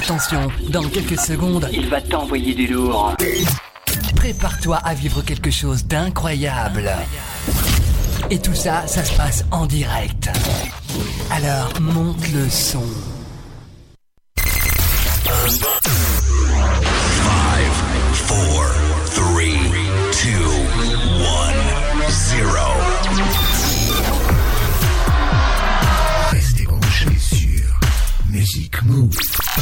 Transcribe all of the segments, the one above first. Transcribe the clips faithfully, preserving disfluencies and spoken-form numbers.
Attention, dans quelques secondes, il va t'envoyer du lourd. Prépare-toi à vivre quelque chose d'incroyable. Et tout ça, ça se passe en direct. Alors, monte le son. five, four, three, two, one, zero. Restez branchés sur Music Move.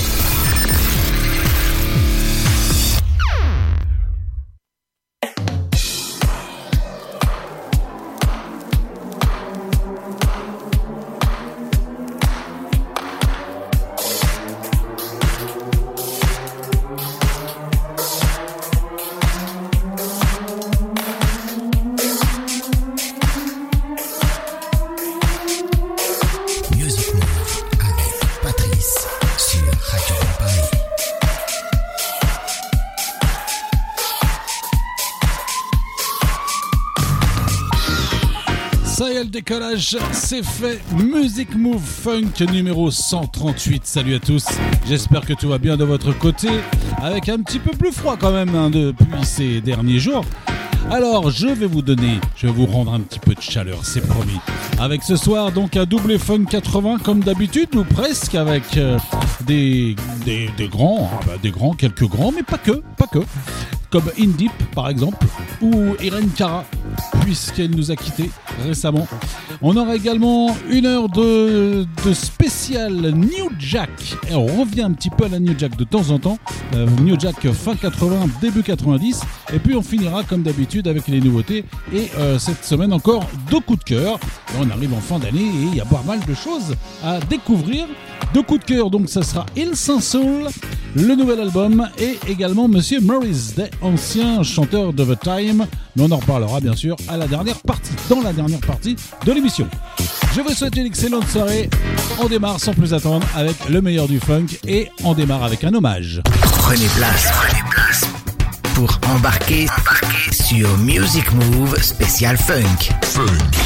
Le décollage, c'est fait. Music Move Funk numéro cent trente-huit. Salut à tous. J'espère que tout va bien de votre côté. Avec un petit peu plus froid quand même hein, depuis ces derniers jours. Alors, je vais vous donner, je vais vous rendre un petit peu de chaleur, c'est promis. Avec ce soir, donc, un double funk quatre-vingts comme d'habitude, ou presque, avec euh, des, des, des grands, hein, bah, des grands, quelques grands, mais pas que, pas que. Comme Indip, par exemple, ou Irene Cara, puisqu'elle nous a quittés récemment. On aura également une heure de, de spécial New Jack. Et on revient un petit peu à la New Jack de temps en temps. Euh, New Jack fin quatre-vingts, début quatre-vingt-dix. Et puis on finira comme d'habitude avec les nouveautés. Et euh, cette semaine encore deux coups de cœur. Et on arrive en fin d'année et il y a pas mal de choses à découvrir. Deux coups de cœur, donc ça sera Il Saint-Soul, le nouvel album, et également Monsieur Morris Day, ancien chanteur de The Time. Mais on en reparlera bien sûr à la dernière partie, dans la dernière partie de l'émission. Je vous souhaite une excellente soirée. On démarre sans plus attendre avec le meilleur du funk et on démarre avec un hommage. Prenez place, prenez place pour embarquer, embarquer sur Music Move spécial funk. Funk.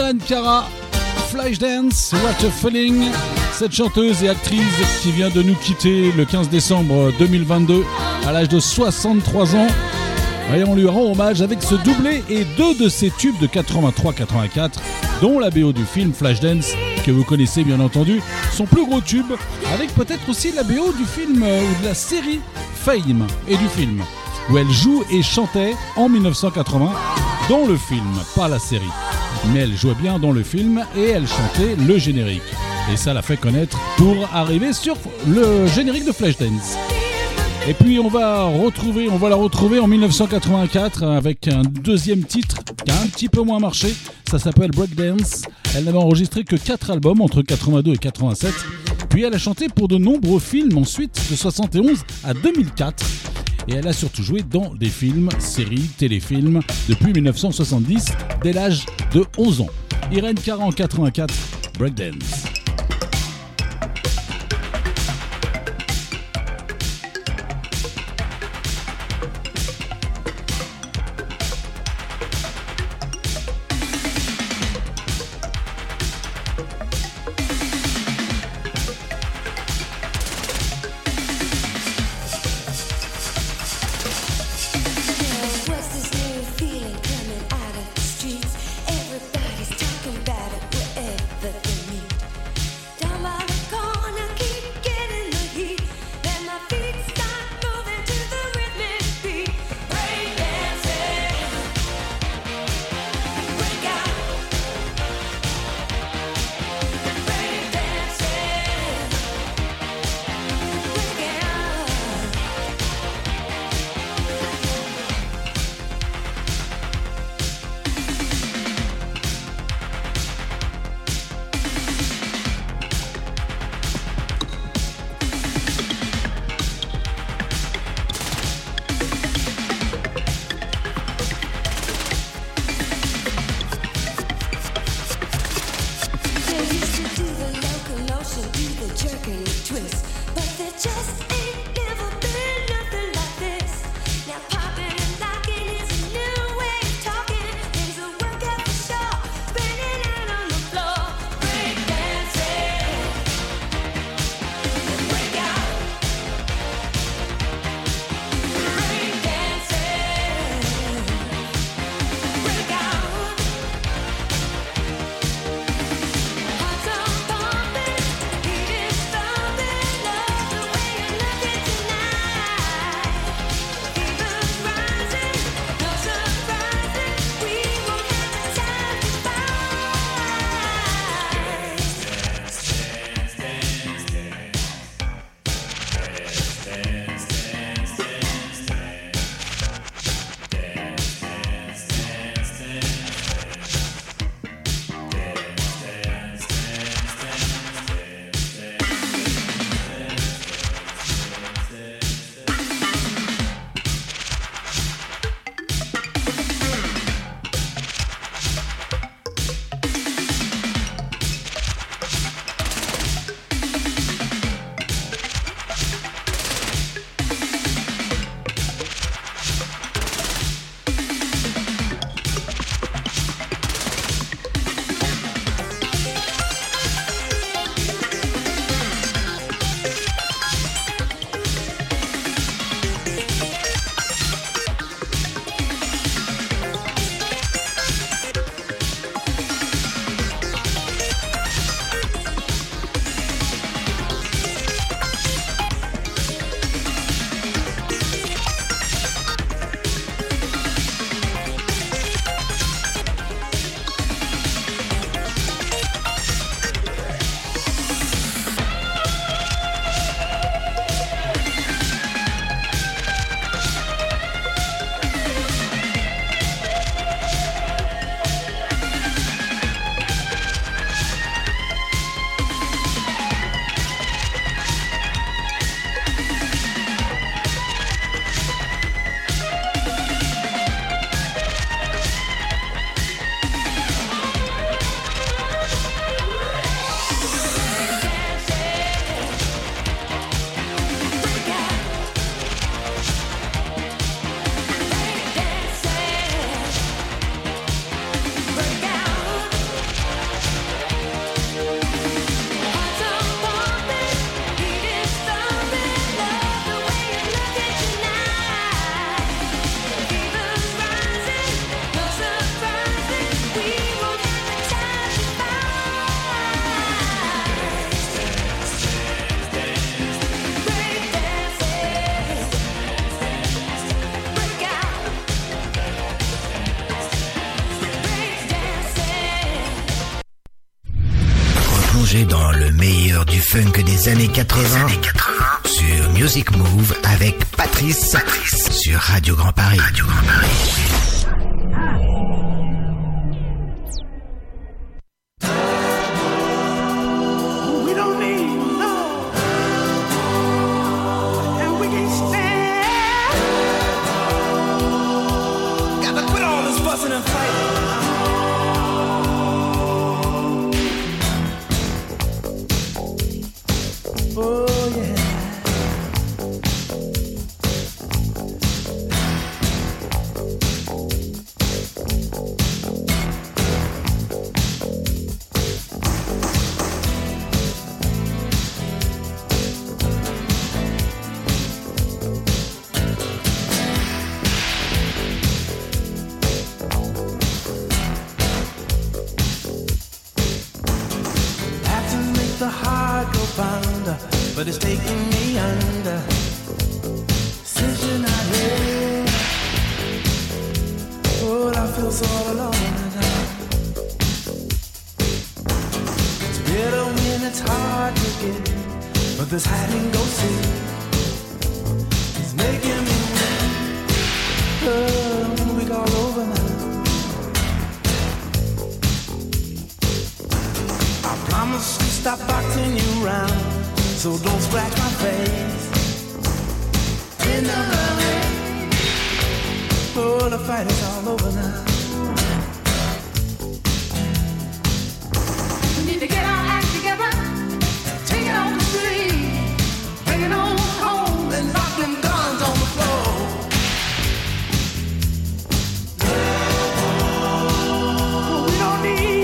Irene Cara, Flashdance, What a Feeling. Cette chanteuse et actrice qui vient de nous quitter le quinze décembre deux mille vingt-deux à l'âge de soixante-trois ans. Et on lui rend hommage avec ce doublé et deux de ses tubes de quatre-vingt-trois quatre-vingt-quatre, dont la B O du film Flashdance, que vous connaissez bien entendu, son plus gros tube, avec peut-être aussi la B O du film euh, ou de la série Fame et du film, où elle joue et chantait en mille neuf cent quatre-vingts dans le film, pas la série. Mais elle jouait bien dans le film et elle chantait le générique. Et ça l'a fait connaître pour arriver sur le générique de Flashdance. Et puis on va retrouver, on va la retrouver en mille neuf cent quatre-vingt-quatre avec un deuxième titre qui a un petit peu moins marché. Ça s'appelle Breakdance. Elle n'avait enregistré que quatre albums entre quatre-vingt-deux et quatre-vingt-sept. Puis elle a chanté pour de nombreux films ensuite, de soixante et onze à deux mille quatre. Et elle a surtout joué dans des films, séries, téléfilms depuis mille neuf cent soixante-dix, dès l'âge de onze ans. Irene Cara en quatre-vingt-quatre, Breakdance. Everybody's talking about it wherever they meet. Le meilleur du funk des années quatre-vingts, années quatre-vingts sur Music Move avec Patrice, Patrice sur Radio Grand Paris. Radio Grand Paris. But it's taking me under. Since you're not here, oh, I feel so all alone now. It's bitter when it's hard to get, but this hide and go see is making me weak. Oh, we all over now. I promise to stop boxing you round. So don't scratch my face in the rain. Oh, the fight is all over now. We need to get our act together, take it on the street, bring it on home, and knock them guns on the floor. We don't need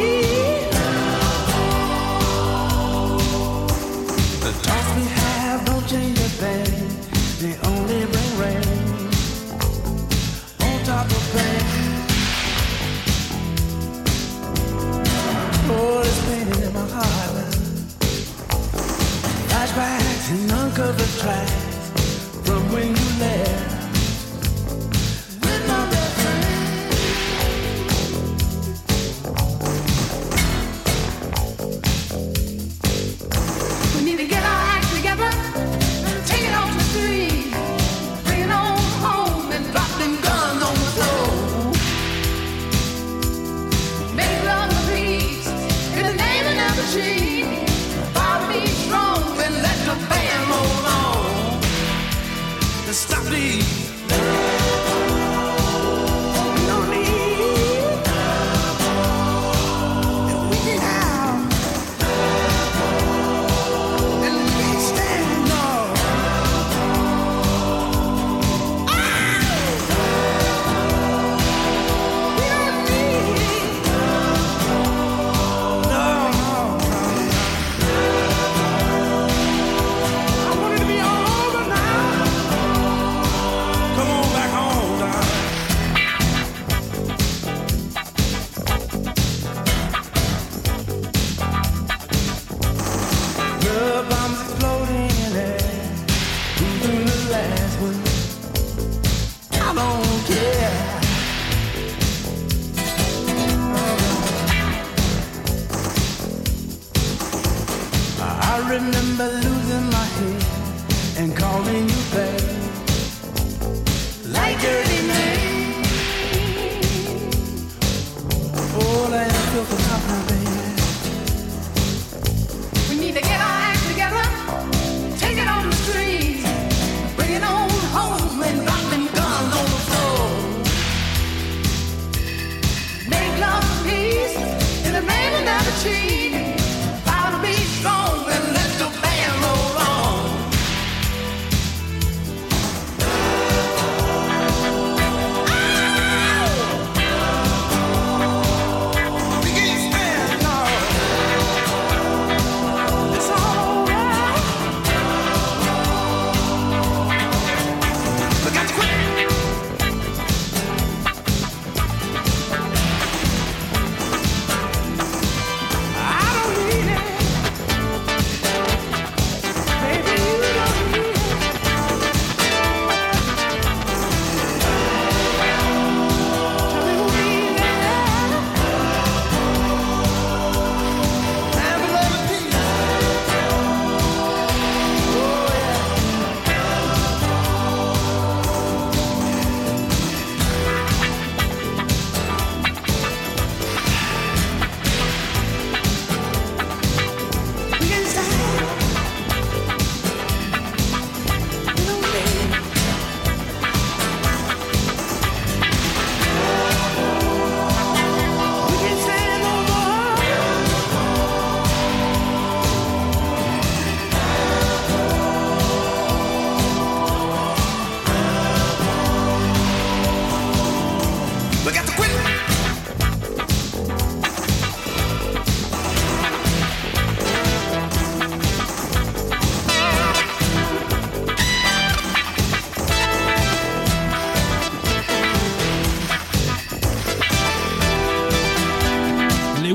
we have don't change a thing. They only bring rain on top of pain. Oh, it's pain in my heart now. Flashbacks and uncovered tracks from when you left with my best friend. We need to get our take it off the street, bring it on home and drop them guns on the floor. Make love and peace in the name of never cheat. I'll be strong and let the band roll on. And stop these. Remember losing my head and calling you back like dirty man. Oh, that feels so tough now, baby. We need to get our act together, take it on the street, bring it on home and drop them guns on the floor. Make love and peace in the name of never cheat. Vow to be strong and let the band roll on.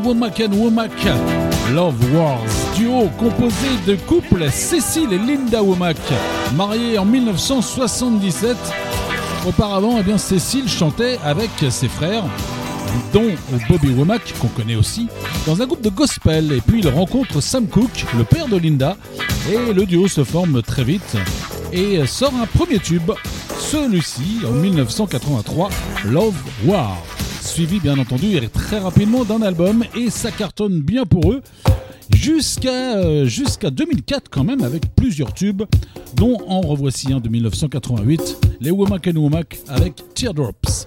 Womack and Womack, Love Wars, duo composé de couples Cécile et Linda Womack, mariés en dix-neuf cent soixante-dix-sept. Auparavant, eh bien, Cécile chantait avec ses frères, dont Bobby Womack, qu'on connaît aussi, dans un groupe de gospel. Et puis il rencontre Sam Cooke, le père de Linda, et le duo se forme très vite et sort un premier tube, celui-ci en dix-neuf cent quatre-vingt-trois, Love War, suivi bien entendu et très rapidement d'un album, et ça cartonne bien pour eux jusqu'à euh, jusqu'à deux mille quatre quand même, avec plusieurs tubes, dont en revoici un de dix-neuf cent quatre-vingt-huit, les Womack and Womack avec Teardrops.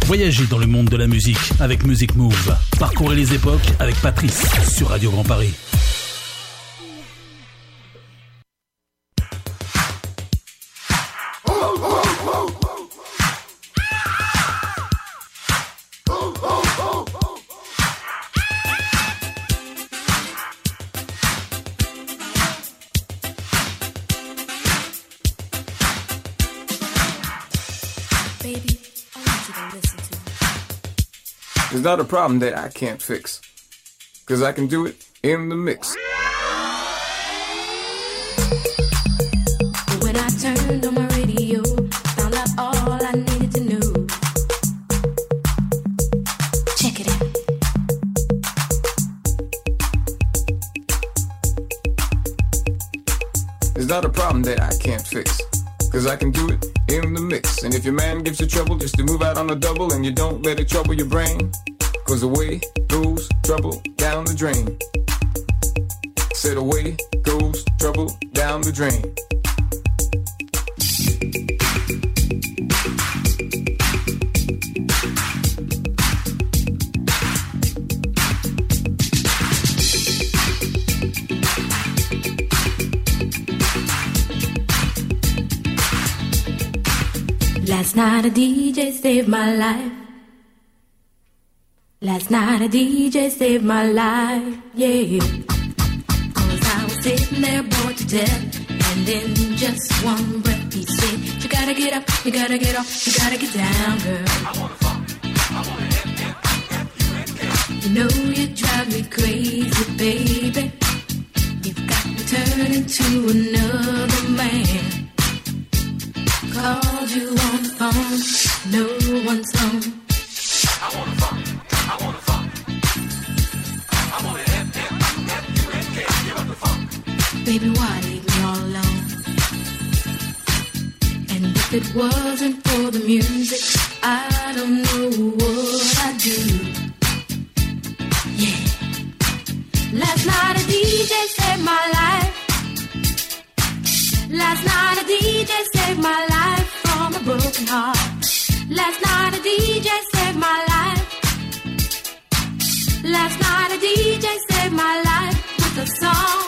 Voyagez dans le monde de la musique avec Music Move. Parcourez les époques avec Patrice sur Radio Grand Paris. It's not a problem that I can't fix, 'cause I can do it in the mix. When I turned on my radio, found out all I needed to know. Check it out. It's not a problem that I can't fix, 'cause I can do it in the mix. And if your man gives you trouble, just to move out on a double, and you don't let it trouble your brain, 'cause away goes trouble down the drain. Said away goes trouble down the drain. Last night a D J saved my life. Last night a D J saved my life, yeah. 'Cause I was sitting there bored to death, and in just one breath he said, you gotta get up, you gotta get off, you gotta get down, girl. I wanna fuck, I wanna hit, hit, hit, hit. You know you drive me crazy, baby. You've got me turning to another man. Called you on the phone, no one's home. I wanna fuck, I wanna fuck. I wanna have, have, have you and can't give up the funk. Baby, why leave me all alone? And if it wasn't for the music, I don't know what I'd do. Yeah. Last night a D J saved my life. Last night a D J saved my life from a broken heart. Last night a D J saved my life. Last night a D J saved my life with a song.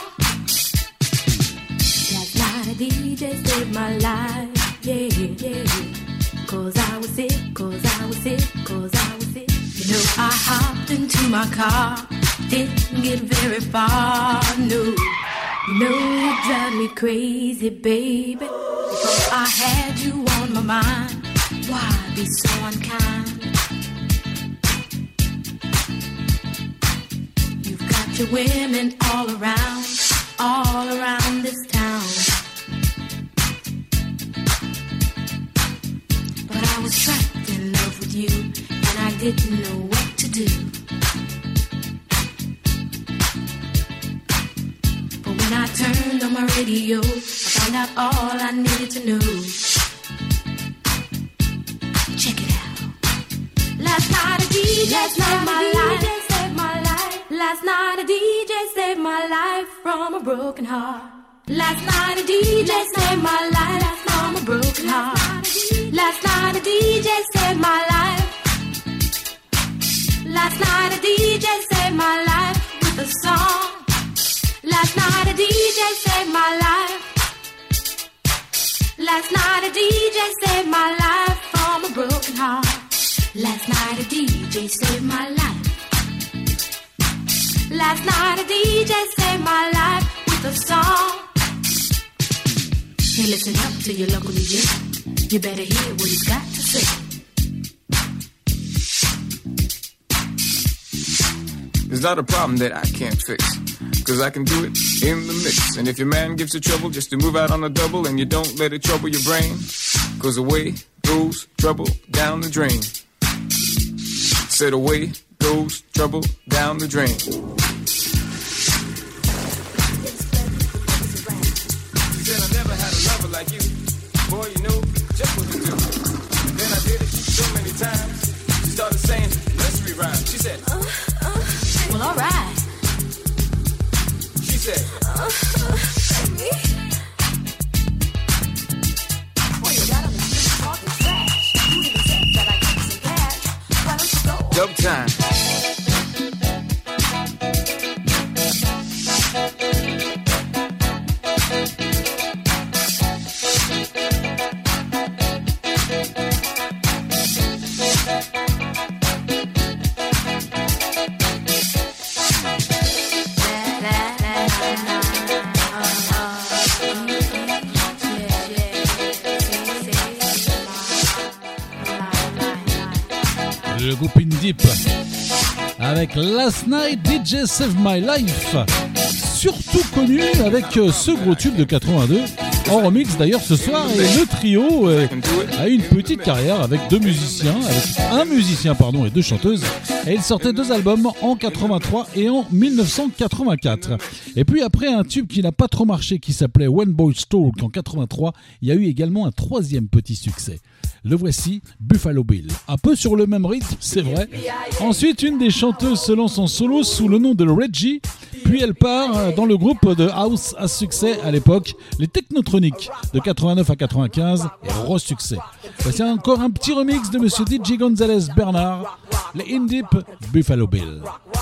Last night a D J saved my life, yeah, yeah. 'Cause I was sick, 'cause I was sick, 'cause I was sick. You know I hopped into my car, didn't get very far, no. You know you drive me crazy, baby. Because I had you on my mind. Why be so unkind? You've got your women all around, all around this town. But I was trapped in love with you, and I didn't know what to do. When I turned on my radio, I found out all I needed to know. Check it out. Last night a D J saved my life. Last night a D J saved my life from a broken heart. Last night a D J saved my life from a broken heart. Last night a D J saved my life. Last night a D J saved my life with a song. Last night a D J saved my life. Last night a D J saved my life from a broken heart. Last night a D J saved my life. Last night a D J saved my life with a song. Hey, listen up to your local D J. You better hear what he's got to say. It's not a problem that I can't fix, 'cause I can do it in the mix. And if your man gives you trouble, just to move out on a double, and you don't let it trouble your brain, 'cause away goes trouble down the drain. Said away goes trouble down the drain. She said I never had a lover like you. Boy, you know just what to do. Then I did it so many times. She started saying nursery rhymes. She said, uh, uh, well, all right. She said, uh, uh, me? Well, you got on the street talking trash. You even said that I give you some cash. dub time. Le groupe In Deep avec Last Night D J Save My Life, surtout connu avec ce gros tube de quatre-vingt-deux en remix d'ailleurs ce soir, et le trio a une petite carrière avec deux musiciens, avec un musicien pardon et deux chanteuses, et ils sortaient deux albums en quatre-vingt-trois et en dix-neuf cent quatre-vingt-quatre. Et puis après un tube qui n'a pas trop marché qui s'appelait One Boy's Talk en quatre-vingt-trois, il y a eu également un troisième petit succès. Le voici, Buffalo Bill. Un peu sur le même rythme, c'est vrai. Ensuite, une des chanteuses se lance en solo sous le nom de Reggie, puis elle part dans le groupe de house à succès à l'époque, les Technotronics, de quatre-vingt-neuf à quatre-vingt-quinze, et re-succès. Voici encore un petit remix de Monsieur D J Gonzalez Bernard, les In Deep, Buffalo Bill.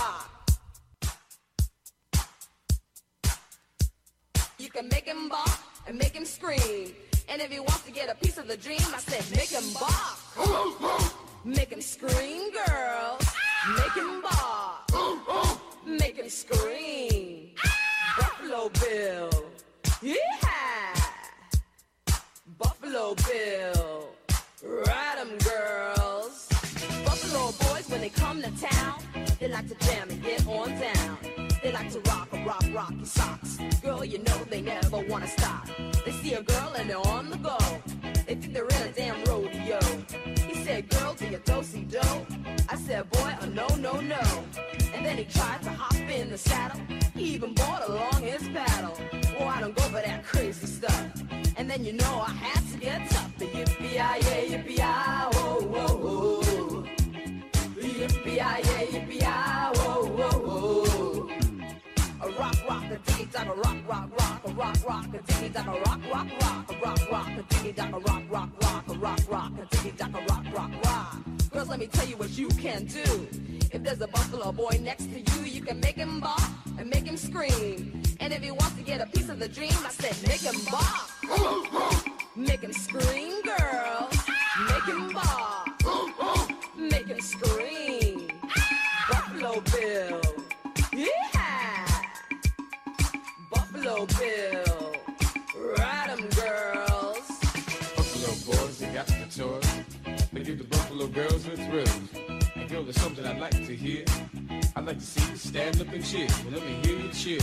You can make him bark and make him scream. And if he wants to get a piece of the dream, I said, make him bark. Make him scream, girls. Make him bark. Make him scream. Buffalo Bill. Yeah. Buffalo Bill. Ride 'em, girls. Buffalo boys, when they come to town, they like to jam and get on down. They like to rock a rock, rock your socks. Girl, you know they never wanna stop. They see a girl and they're on the go. They think they're in a damn rodeo. He said, girl, do you do-si-do? I said, boy, oh no, no, no. And then he tried to hop in the saddle. He even brought along his paddle. Oh, I don't go for that crazy stuff. And then you know I had to get tough. The yippee-yi-yay, yippee-yi, whoa, whoa, whoa. Yippee-yi-yay, yippee-yi, whoa, whoa, whoa. A rock, rock, a diggy, dock, a rock, rock, rock, a rock, rock, a diggy, dock, a rock, rock, rock, a rock, rock, a diggy, dock, a rock, rock, rock, a rock, rock, a diggy, dock, a rock, rock, rock. Girls, let me tell you what you can do. If there's a buffalo boy next to you, you can make him bark and make him scream. And if he wants to get a piece of the dream, I said, make him bark. Make him scream, girls. Make him bark. Make him scream. Buffalo Bill. Yeah. Buffalo Bill. Ride 'em, girls. Buffalo boys, they got the toys. They give the Buffalo girls the thrills. And girl, there's something I'd like to hear. I'd like to see you stand up and cheer. Well, let me hear you cheer.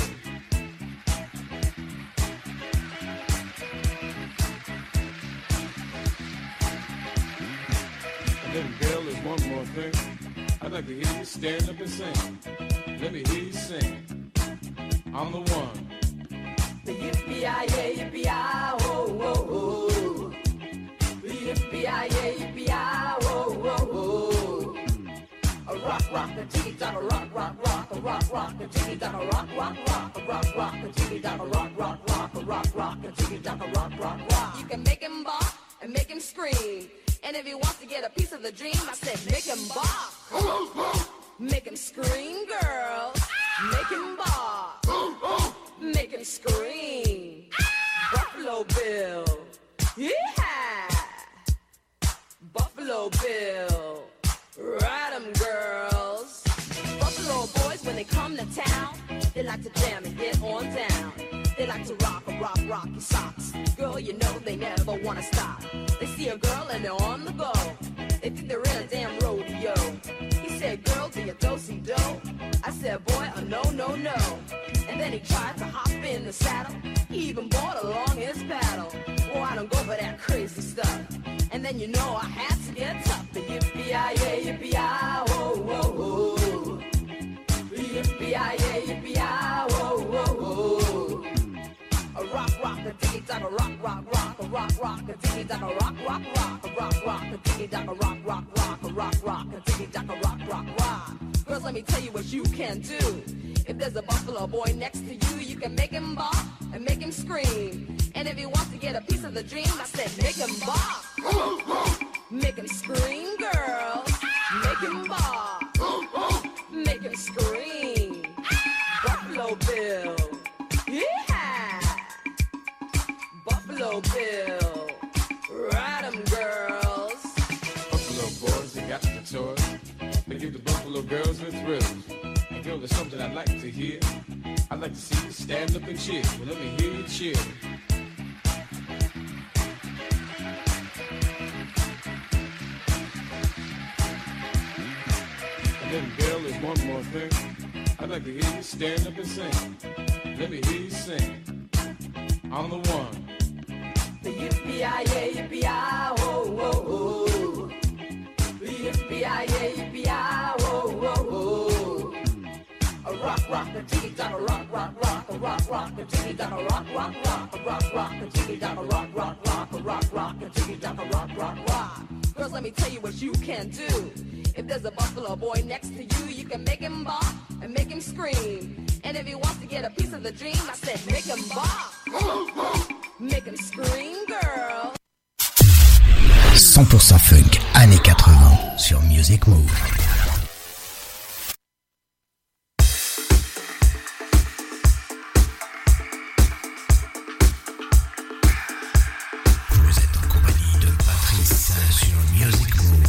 And then, girl, there's one more thing. I'd like to hear you stand up and sing. Let me hear you sing. I'm the one. The yippee-yi-yay, yippee-yi, whoa, whoa, whoa. The yippee-yi-yay, yippee-yi, whoa, whoa, whoa. A rock, rock, a jiggy, dock, a rock, rock, rock, a rock, rock, a jiggy, dock, a rock, rock, rock, a rock, rock, a jiggy, dock, a rock, rock, rock, a rock, rock, a jiggy, dock, a rock, rock, rock. You can make him bark and make him scream. And if he wants to get a piece of the dream, I said, make him bark. Make him scream, girls. Make him bark. Make him scream. Buffalo Bill. Yeah. Buffalo Bill. Ride 'em, girls. Buffalo boys, when they come to town, they like to jam and get on down. They like to rock a rock, rock your socks. Girl, you know they never wanna stop. They see a girl and they're on the go. They think they're in a damn rodeo. He said, girl, do you do-si-do? I said, boy, oh no, no, no. And then he tried to hop in the saddle. He even brought along his paddle. Oh, I don't go for that crazy stuff. And then you know I had to get tough. The yippee-yi-yay, yippee-yi, whoa, whoa, whoa. The yippee-yi-yay, yippee-yi, whoa, whoa, whoa. A rock, rock, a diggy, dock, a rock, rock, rock, a rock, rock, a diggy, dock, a rock, rock, rock, a rock, rock, a diggy, dock, a rock, rock, rock, a rock, rock, a diggy, dock, a rock, rock, rock. Girls, let me tell you what you can do. If there's a buffalo boy next to you, you can make him bark and make him scream. And if he wants to get a piece of the dream, I said, make him bark. Make him scream, girls. Make him bark. toys. They give the Buffalo girls their thrills. And girl, there's something I'd like to hear. I'd like to see you stand up and cheer. Well, let me hear you cheer. And then, girl, there's one more thing. I'd like to hear you stand up and sing. Let me hear you sing. On the one. The yippee-yi-yay, yippee-yi, oh, oh, oh. The yippee-yi-yay, yippee-yi, oh, oh, oh. A rock, rock, a jiggy, dock, a rock, rock, rock, a rock, rock, a jiggy, dock, a rock, rock, rock, a rock, rock, a jiggy, dock, a rock, rock, rock, a rock, rock, a jiggy, dock, a rock, rock, rock. Girls, let me tell you what you can do. If there's a Buffalo boy next to you, you can make him bop and make him scream. And if he wants to get a piece of the dream, I said make him bop. Make him scream, girl. cent pour cent funk, années quatre-vingts, sur Music Move. Vous êtes en compagnie de Patrice sur Music Move.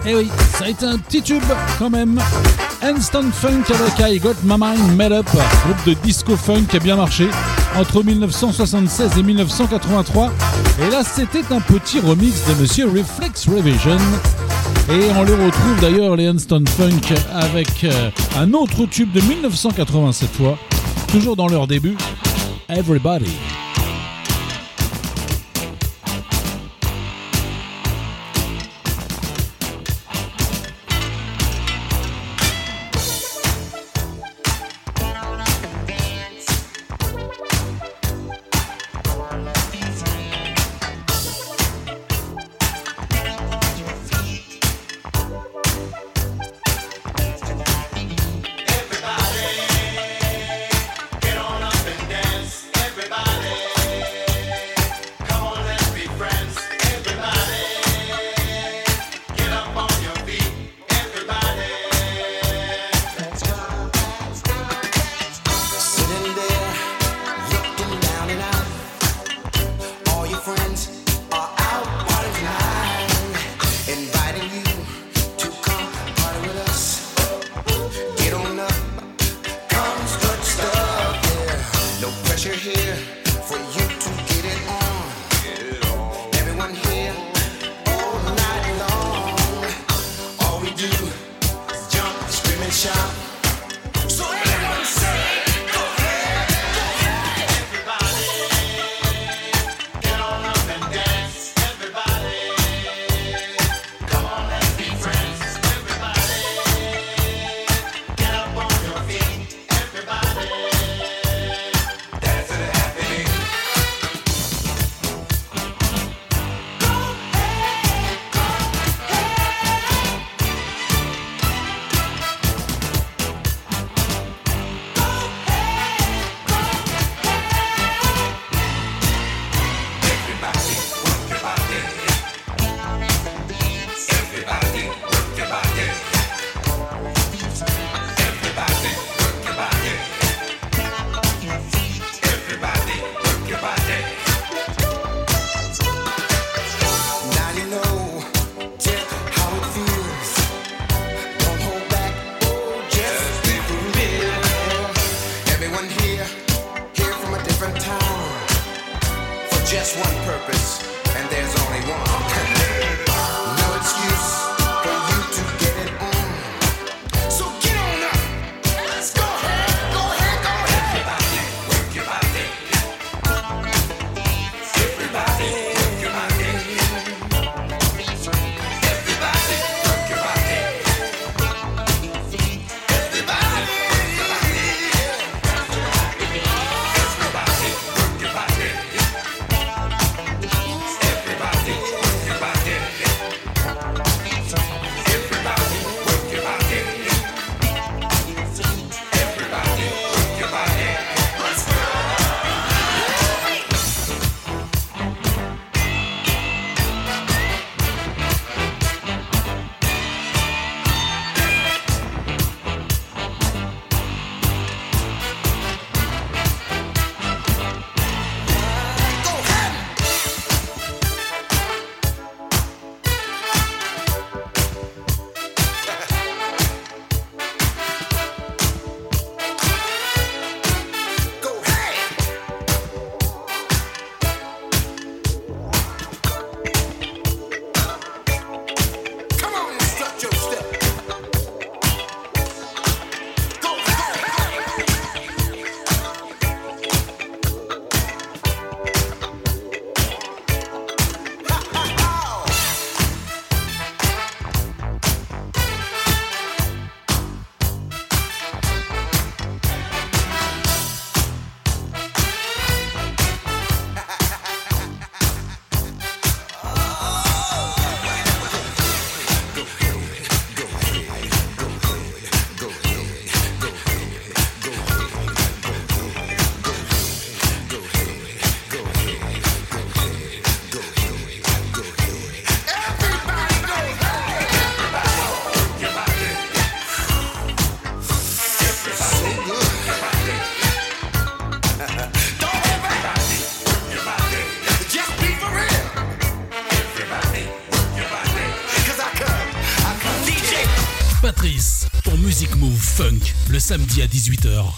Et oui, ça a été un petit tube quand même. Instant Funk avec I Got My Mind Made Up, groupe de disco funk qui a bien marché entre dix-neuf cent soixante-seize et dix-neuf cent quatre-vingt-trois. Et là, c'était un petit remix de Monsieur Reflex Revision. Et on les retrouve d'ailleurs, les Instant Funk, avec euh, un autre tube de dix-neuf cent quatre-vingts cette fois, toujours dans leur début, Everybody. Everybody, Music Move Funk, le samedi à dix-huit heures.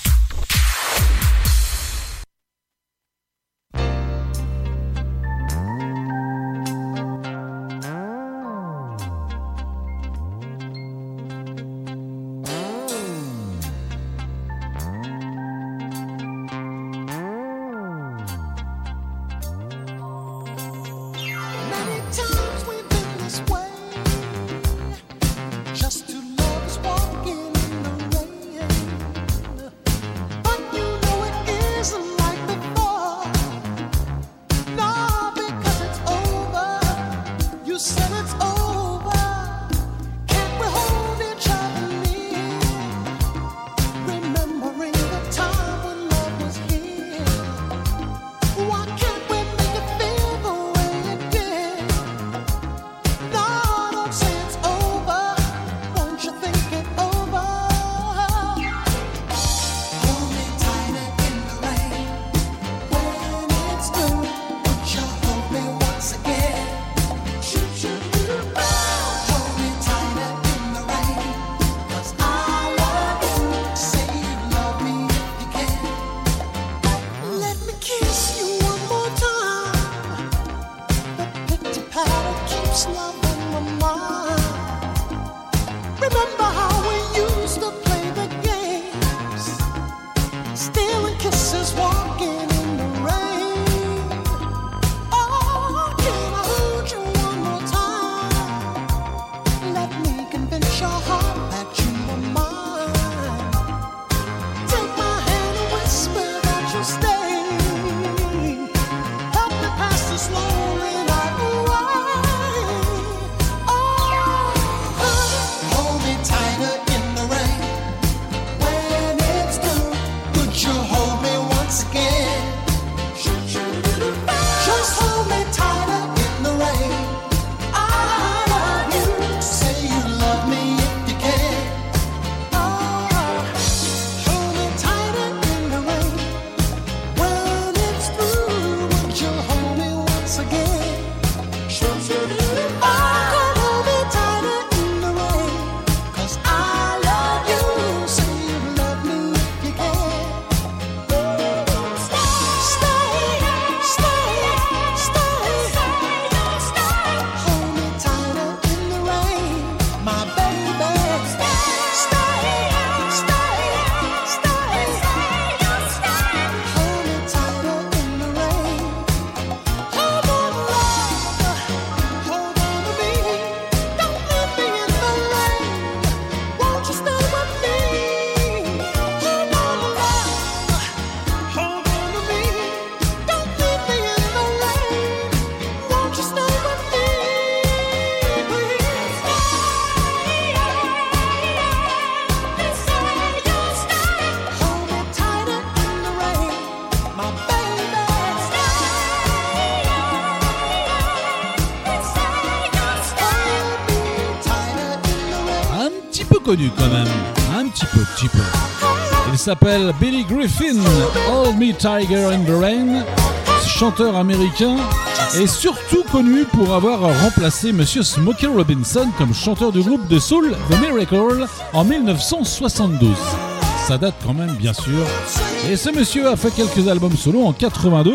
Connu quand même, un petit peu, petit peu. Il s'appelle Billy Griffin, Hold Me Tiger in the Rain, chanteur américain et surtout connu pour avoir remplacé Monsieur Smokey Robinson comme chanteur du groupe de soul The Miracle en dix-neuf cent soixante-douze. Ça date quand même bien sûr. Et ce monsieur a fait quelques albums solo en quatre-vingt-deux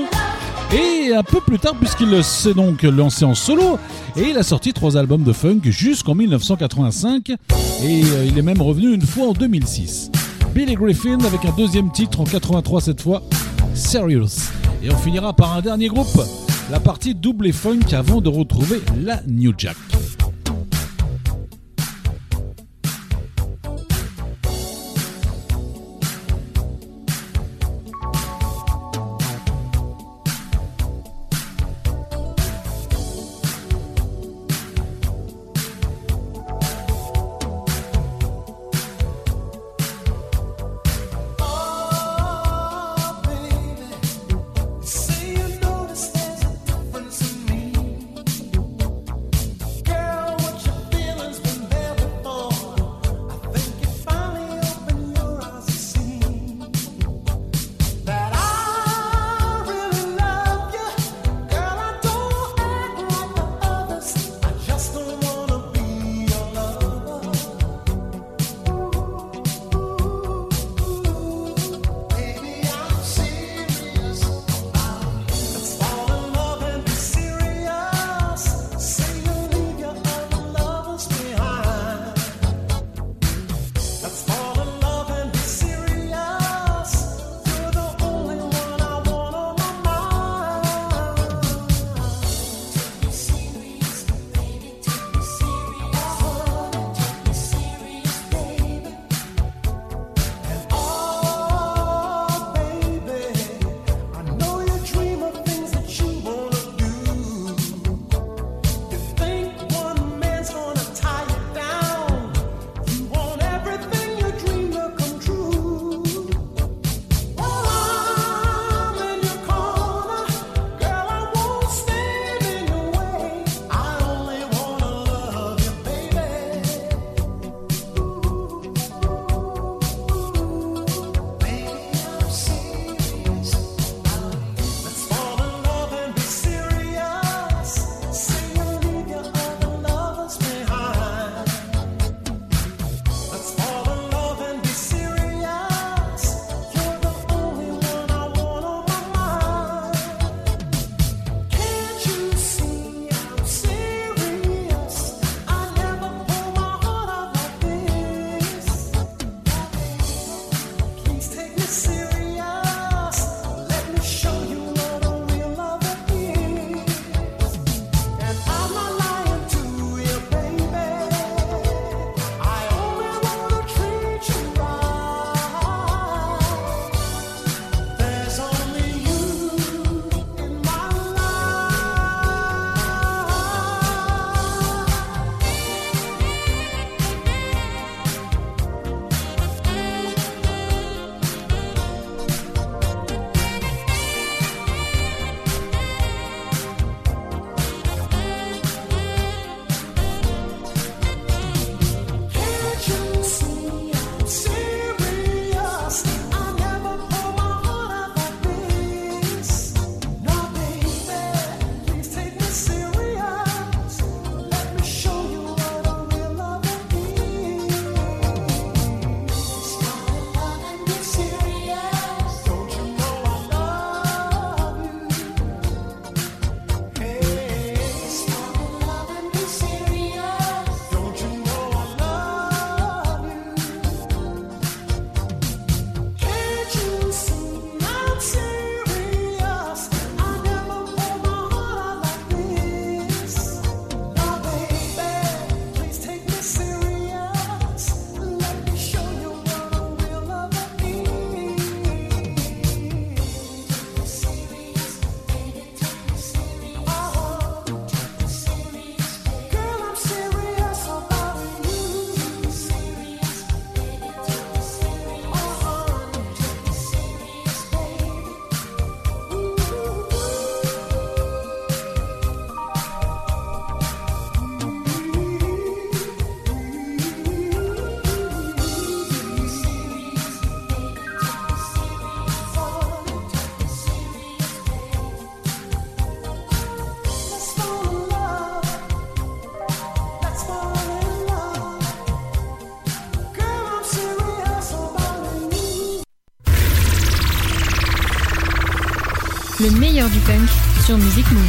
et un peu plus tard puisqu'il s'est donc lancé en solo et il a sorti trois albums de funk jusqu'en dix-neuf cent quatre-vingt-cinq et il est même revenu une fois en deux mille six. Billy Griffin avec un deuxième titre en quatre-vingt-trois cette fois, Serious. Et on finira par un dernier groupe, la partie double et funk avant de retrouver la New Jack. Girl, Le meilleur du funk sur Music Move.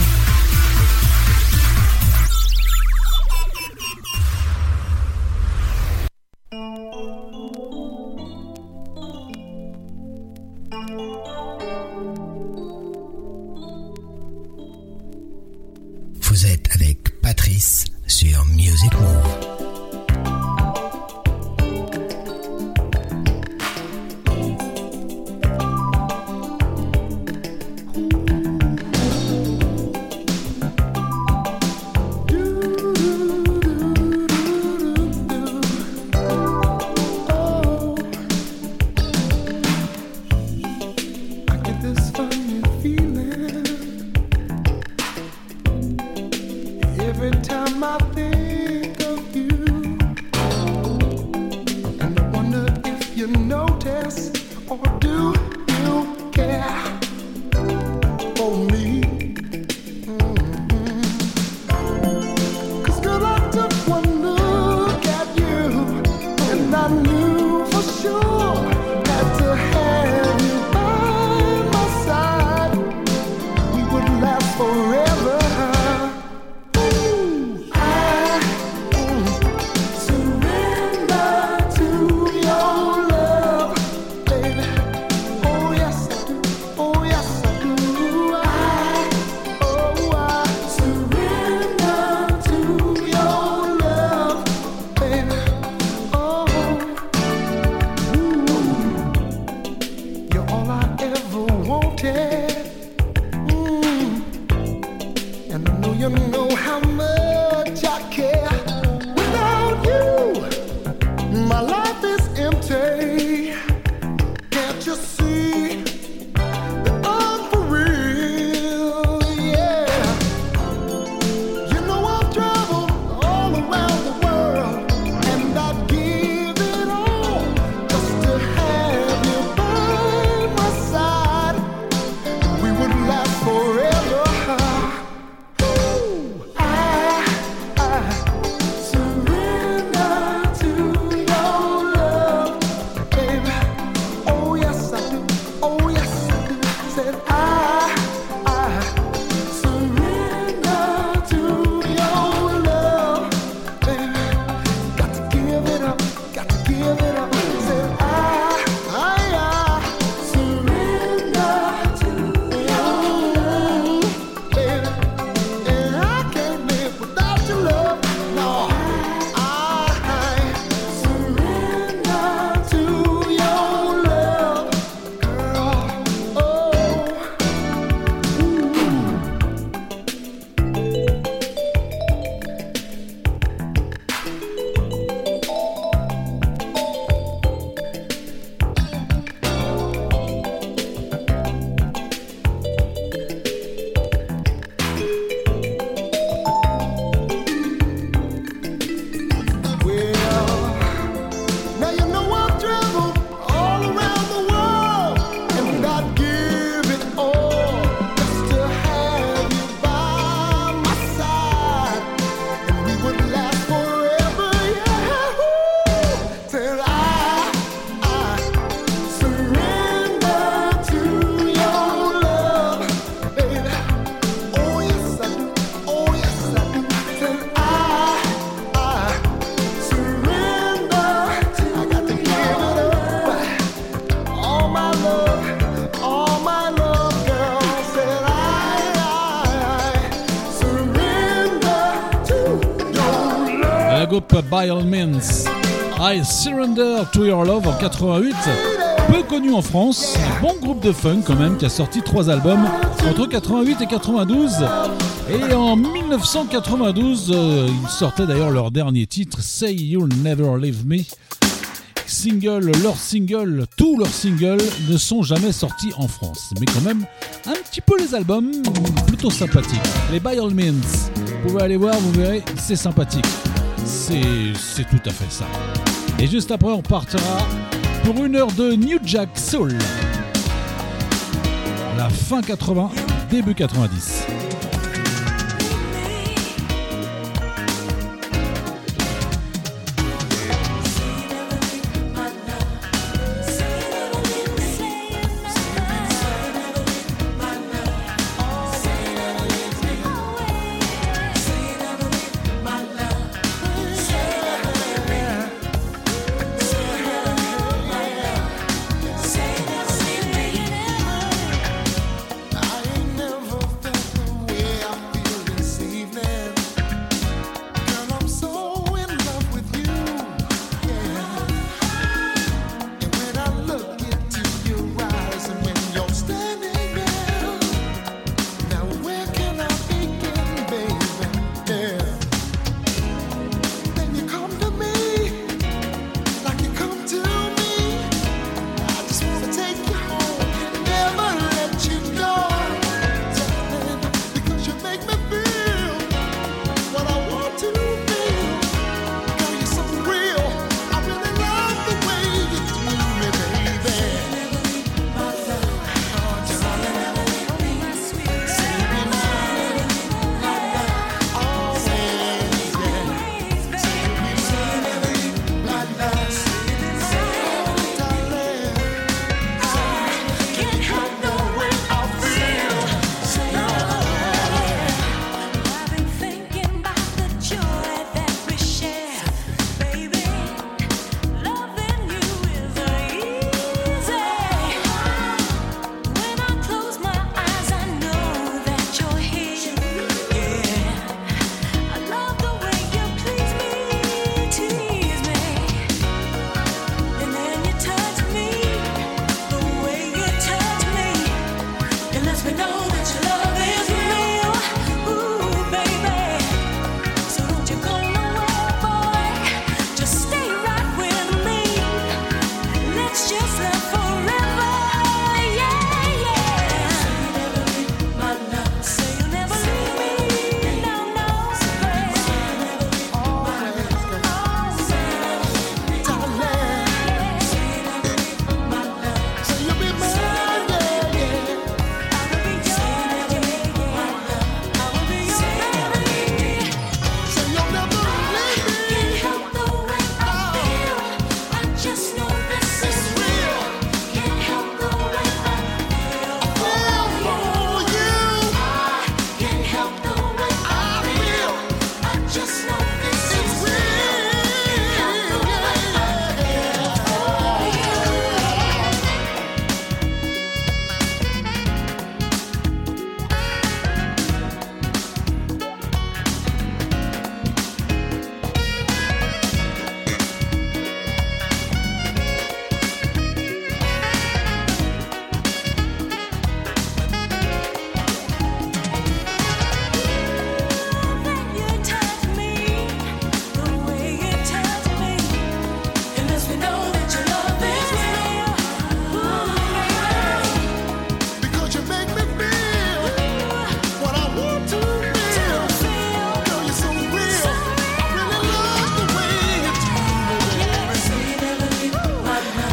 Vous êtes avec Patrice sur Music Move. By All Means, I Surrender to Your Love en quatre-vingt-huit, peu connu en France, un bon groupe de funk quand même qui a sorti trois albums entre quatre-vingt-huit et quatre-vingt-douze, et en dix-neuf cent quatre-vingt-douze euh, ils sortaient d'ailleurs leur dernier titre, Say You'll Never Leave Me. Single, leurs singles, tous leurs singles ne sont jamais sortis en France, mais quand même un petit peu les albums plutôt sympathiques. Les By All Means, vous pouvez aller voir, vous verrez, c'est sympathique. C'est, c'est tout à fait ça. Et juste après, on partira pour une heure de New Jack Soul. La fin quatre-vingts, début quatre-vingt-dix.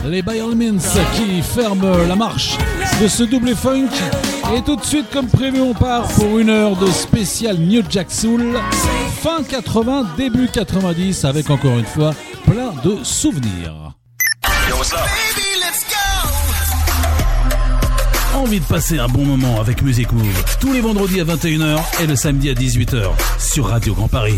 les By All Means qui ferment la marche de ce double funk. Et tout de suite, comme prévu, on part pour une heure de spécial New Jack Soul. Fin quatre-vingts, début quatre-vingt-dix, avec encore une fois plein de souvenirs. Yo, what's up? Baby, let's go! Envie de passer un bon moment avec Music Move tous les vendredis à vingt et une heures et le samedi à dix-huit heures sur Radio Grand Paris.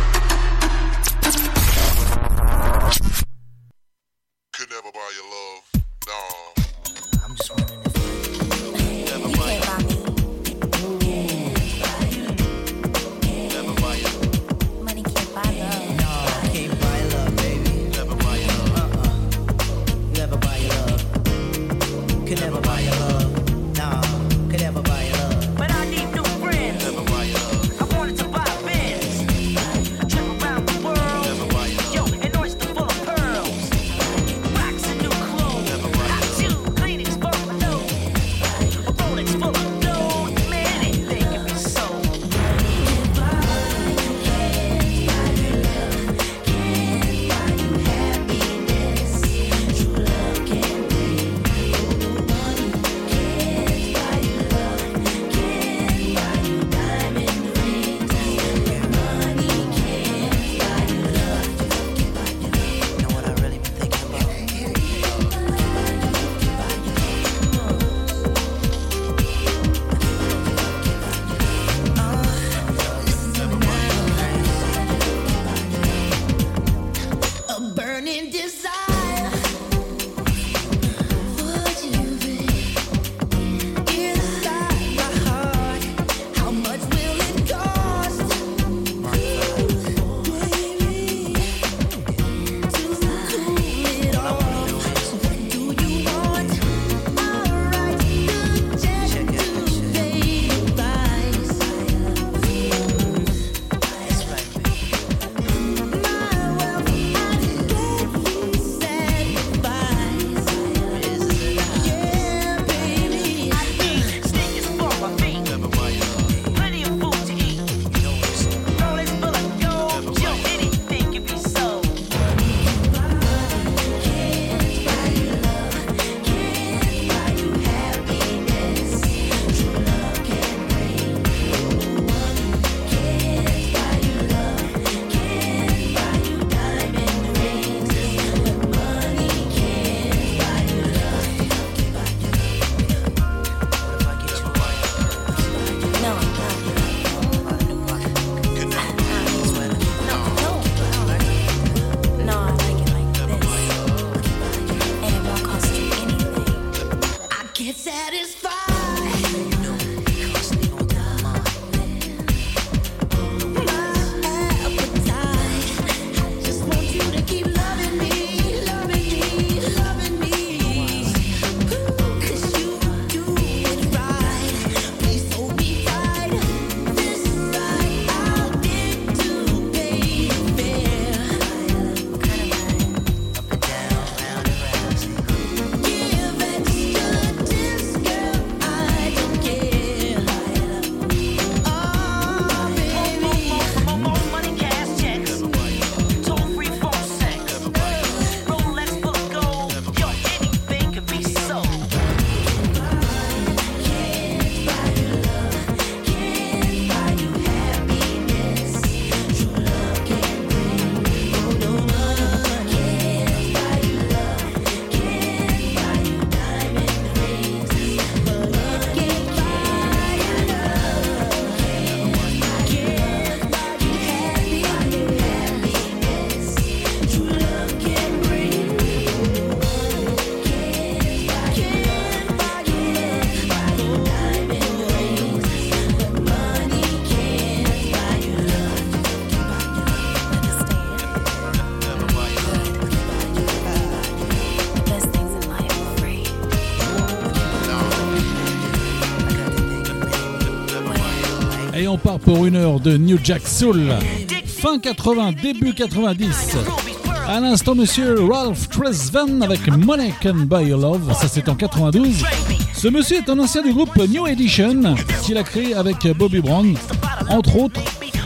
Et on part pour une heure de New Jack Soul. Fin quatre-vingts, début quatre-vingt-dix. À l'instant, monsieur Ralph Tresvant avec Money Can Buy Your Love. Ça, c'est en quatre-vingt-douze. Ce monsieur est un ancien du groupe New Edition qu'il a créé avec Bobby Brown, entre autres.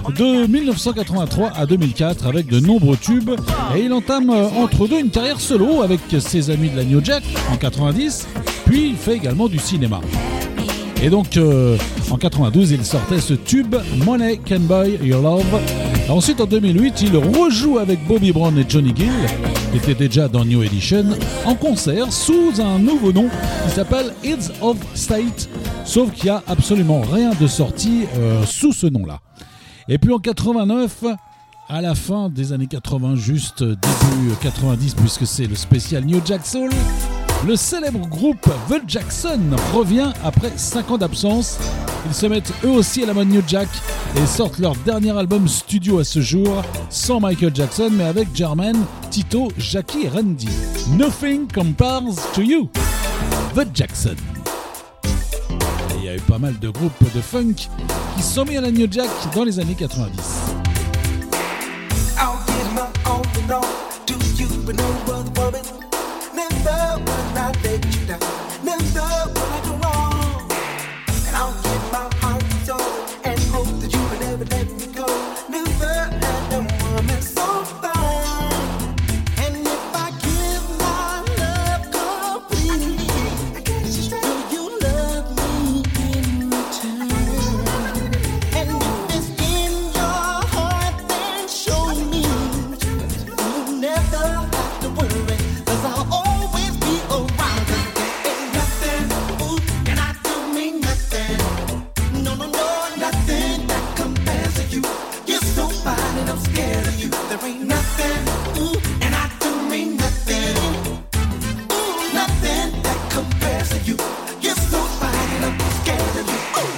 de dix-neuf cent quatre-vingt-trois à deux mille quatre avec de nombreux tubes et il entame entre deux une carrière solo avec ses amis de la New Jack en quatre-vingt-dix, puis il fait également du cinéma. Et donc euh, en quatre-vingt-douze il sortait ce tube Money Can Buy Your Love. Ensuite en deux mille huit il rejoue avec Bobby Brown et Johnny Gill qui était déjà dans New Edition en concert sous un nouveau nom qui s'appelle Heads of State, sauf qu'il n'y a absolument rien de sorti euh, sous ce nom là. Et puis en quatre-vingt-neuf, à la fin des années quatre-vingts, juste début quatre-vingt-dix puisque c'est le spécial New Jack Soul, le célèbre groupe The Jackson revient après cinq ans d'absence. Ils se mettent eux aussi à la mode New Jack et sortent leur dernier album studio à ce jour, sans Michael Jackson mais avec Jermaine, Tito, Jackie et Randy. Nothing Compares to You, The Jackson. Et il y a eu pas mal de groupes de funk qui sont mis à la New Jack dans les années quatre-vingt-dix. I'll give my all and all to you, but no other woman. Never will I let you down. Never will I go wrong. And I'll give my heart and soul and hope that you will never let me go. Never had a woman so fine. And if I give my love completely, will you love me in return? And if it's in your heart, then show me. You'll never have to worry, 'cause I'll always be around. 'Cause there ain't nothing, ooh, and I do mean nothing. No, no, no, nothing that compares to you. You're so fine and I'm scared of you. There ain't nothing, ooh, and I do mean nothing. Ooh, nothing that compares to you. You're so fine and I'm scared of you. Ooh.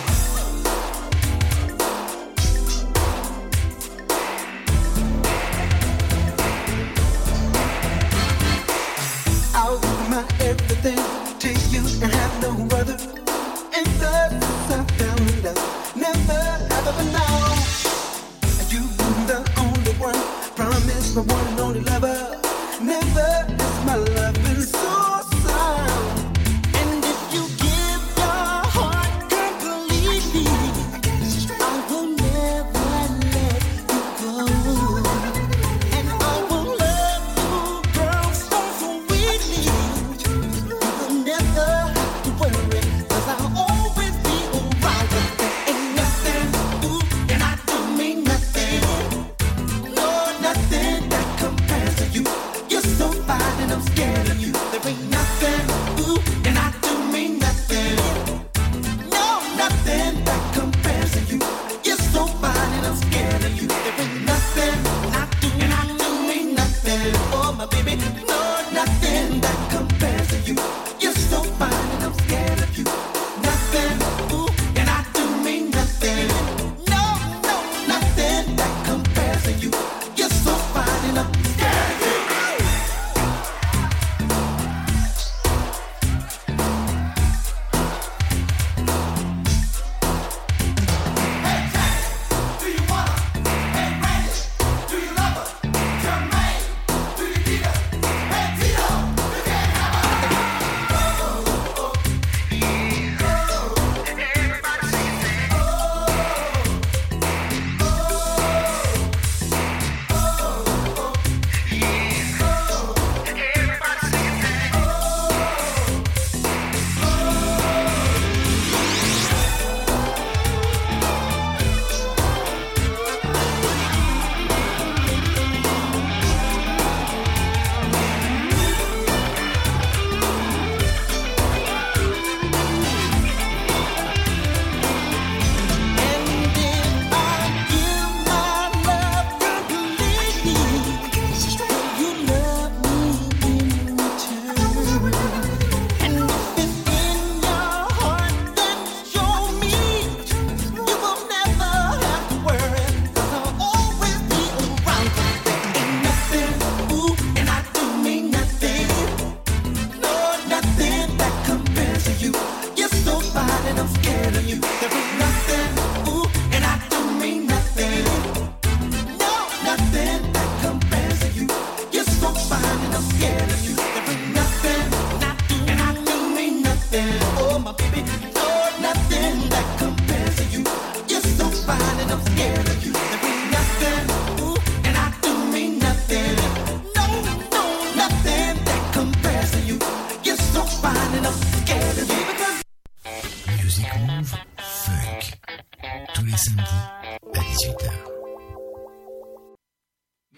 I'll give my everything to you and have no other. And thus I found out, never have ever known. You've been the only one, promise my one and only lover. Never is my love been so sound. And if you give your heart completely, I will never let you go. And I will love you, girl, so sweetly. You will never have to worry, 'cause I'll always be around. 'Cause there ain't nothing, ooh, and I do mean nothing. No, nothing that compares to you. You're so fine and I'm scared of you. There ain't nothing, ooh, and I do mean nothing. No, nothing that compares to you. You're so fine and I'm scared of you. There ain't nothing, and I do, and I do mean nothing. Oh, my baby, no, nothing that compares to you. You're so fine and I'm scared of you. Nothing, ooh, and I do mean nothing. No, no, nothing that compares to you. You're so fine and I'm scared of you.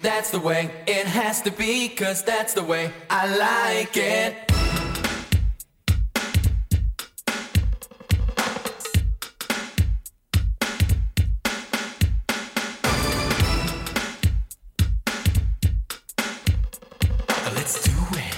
That's the way it has to be, 'cause that's the way I like it. Let's do it.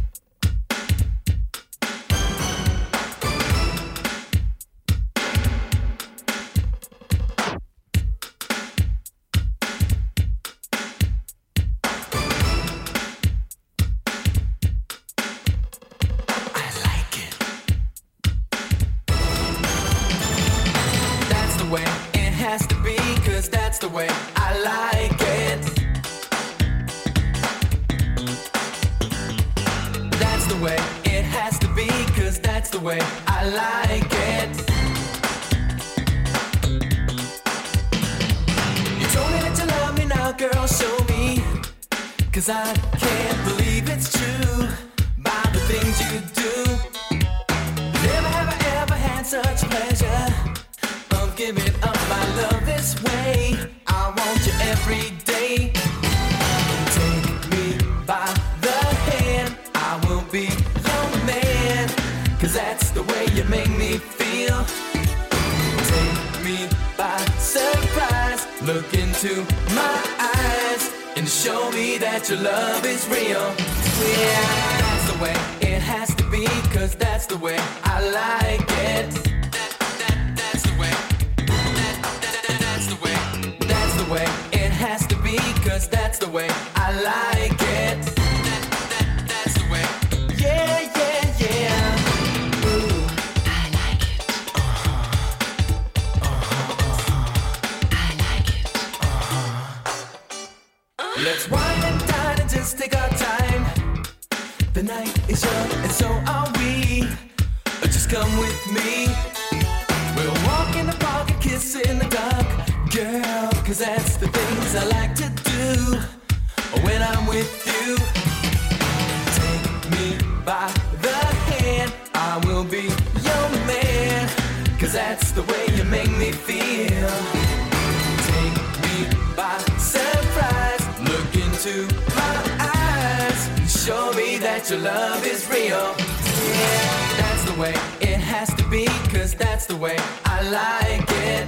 Has to be, 'cause that's the way I like it. That's the way it has to be, 'cause that's the way I like it. You told me that you love me, now girl show me, 'cause I can't believe it's true by the things you do. Never have I ever had such pleasure of giving up my love this way. I want you every day. Take me by the hand, I will be your man, 'cause that's the way you make me feel. Take me by surprise, look into my eyes, and show me that your love is real. Yeah, that's the way it has to be, 'cause that's the way I like it. Way it has to be, 'cause that's the way I like it. That, that, that's the way. Yeah, yeah, yeah. Ooh. I like it. Uh-huh. Uh-huh, uh-huh. I like it. Uh-huh. Let's wine and dine and just take our time. The night is young and so are we. Just come with me. We'll walk in the park and kiss in the dark, girl, 'cause that's the things I like to do when I'm with you. Take me by the hand, I will be your man, 'cause that's the way you make me feel. Take me by surprise, look into my eyes, show me that your love is real. Yeah, that's the way it has to be, 'cause that's the way I like it.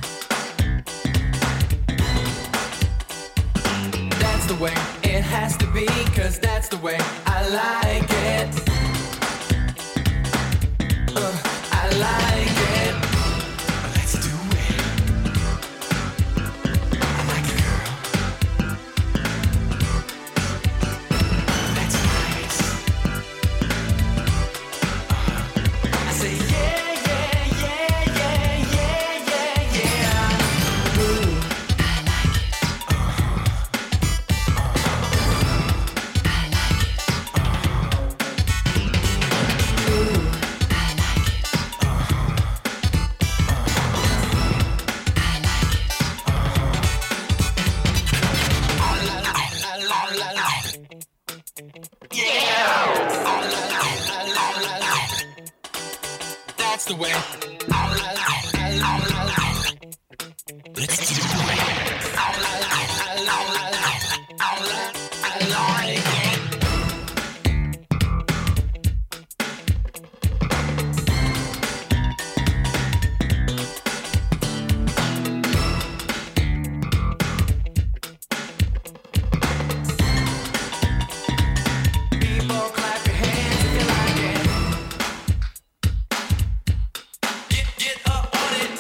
That's the way it has to be, 'cause that's the way I like it. Uh, I like it. Let's do it. I like it, girl. That's nice. Uh, I say yeah, yeah, yeah, yeah, yeah, yeah, yeah. Ooh. That's the way. Let's do it. I like it. People clap your hands if you like it. Get, get up on it.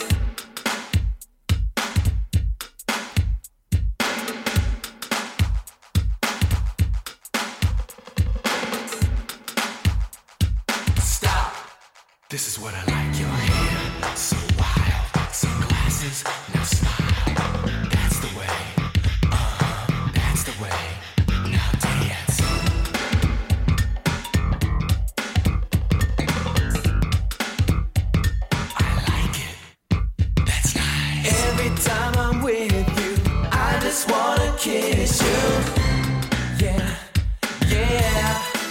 Stop. This is what I like. Your hair so wild. Sunglasses, now smile. That's the way. Uh-huh. That's the way. Now dance. I like it. That's nice. Every time I'm with you, I just wanna kiss you. Yeah, yeah.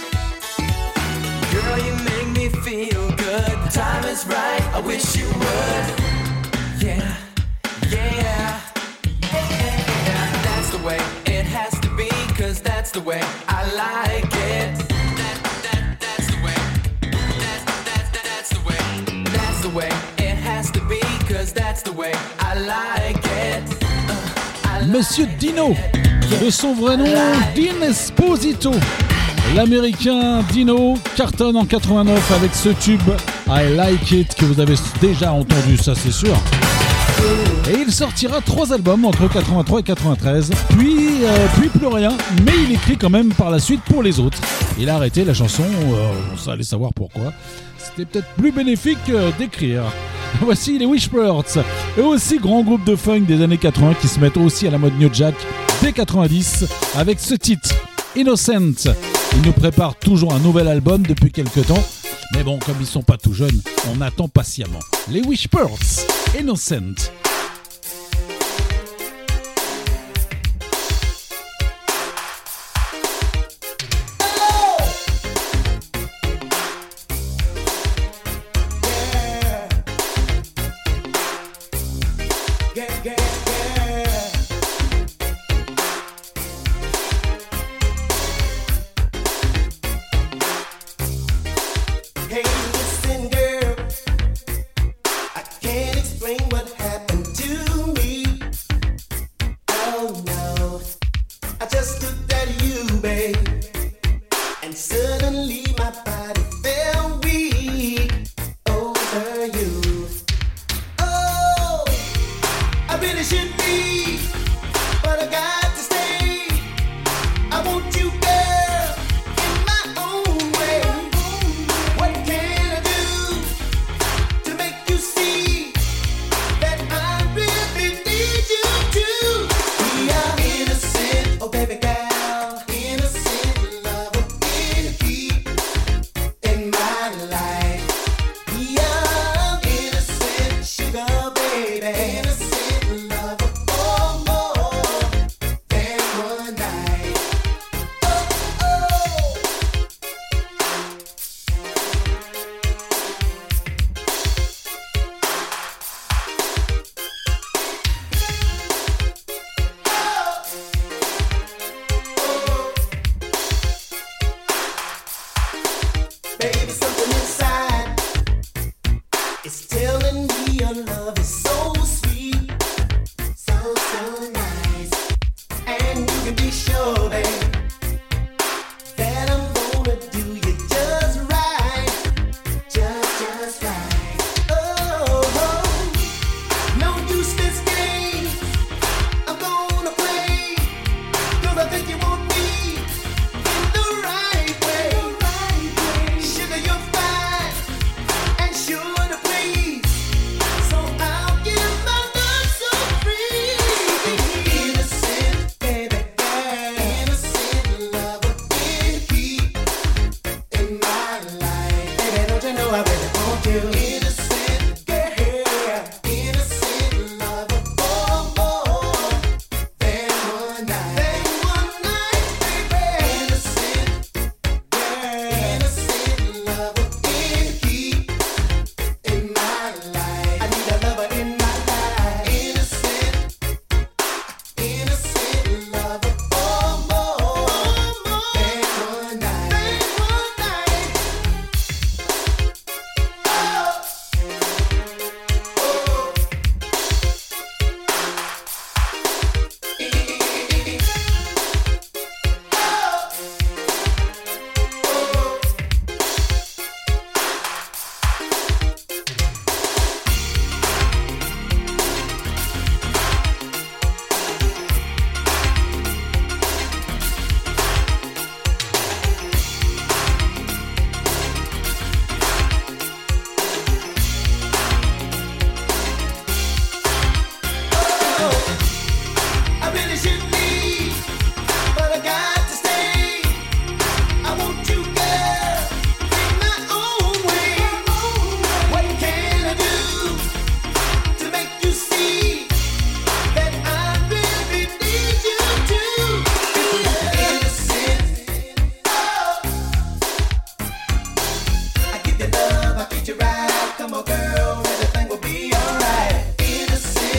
Girl, you make me feel good. The time is right, I wish you would. Yeah, yeah, yeah. That's the way it has that's the way I like it. That, that, that's the way. That, that, that, that's the way. That's the way it has to be, cause that's the way I like it. Uh, I like Monsieur Dino, de son vrai nom, Dean Esposito. L'américain Dino cartonne en quatre-vingt-neuf avec ce tube I Like It que vous avez déjà entendu, ça c'est sûr. Et il sortira trois albums entre quatre-vingt-trois et quatre-vingt-treize, puis, euh, puis plus rien, mais il écrit quand même par la suite pour les autres. Il a arrêté la chanson, euh, on allait savoir pourquoi. C'était peut-être plus bénéfique euh, d'écrire. Voici les Wishbirds, eux aussi grand groupe de funk des années quatre-vingts qui se mettent aussi à la mode New Jack dès quatre-vingt-dix avec ce titre, Innocent. Ils nous préparent toujours un nouvel album depuis quelques temps, mais bon, comme ils sont pas tout jeunes, on attend patiemment. Les Wishbirds, Innocent.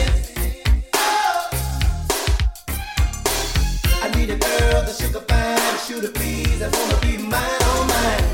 need a girl, the sugar fine. want you to please, I wanna be mine, all mine.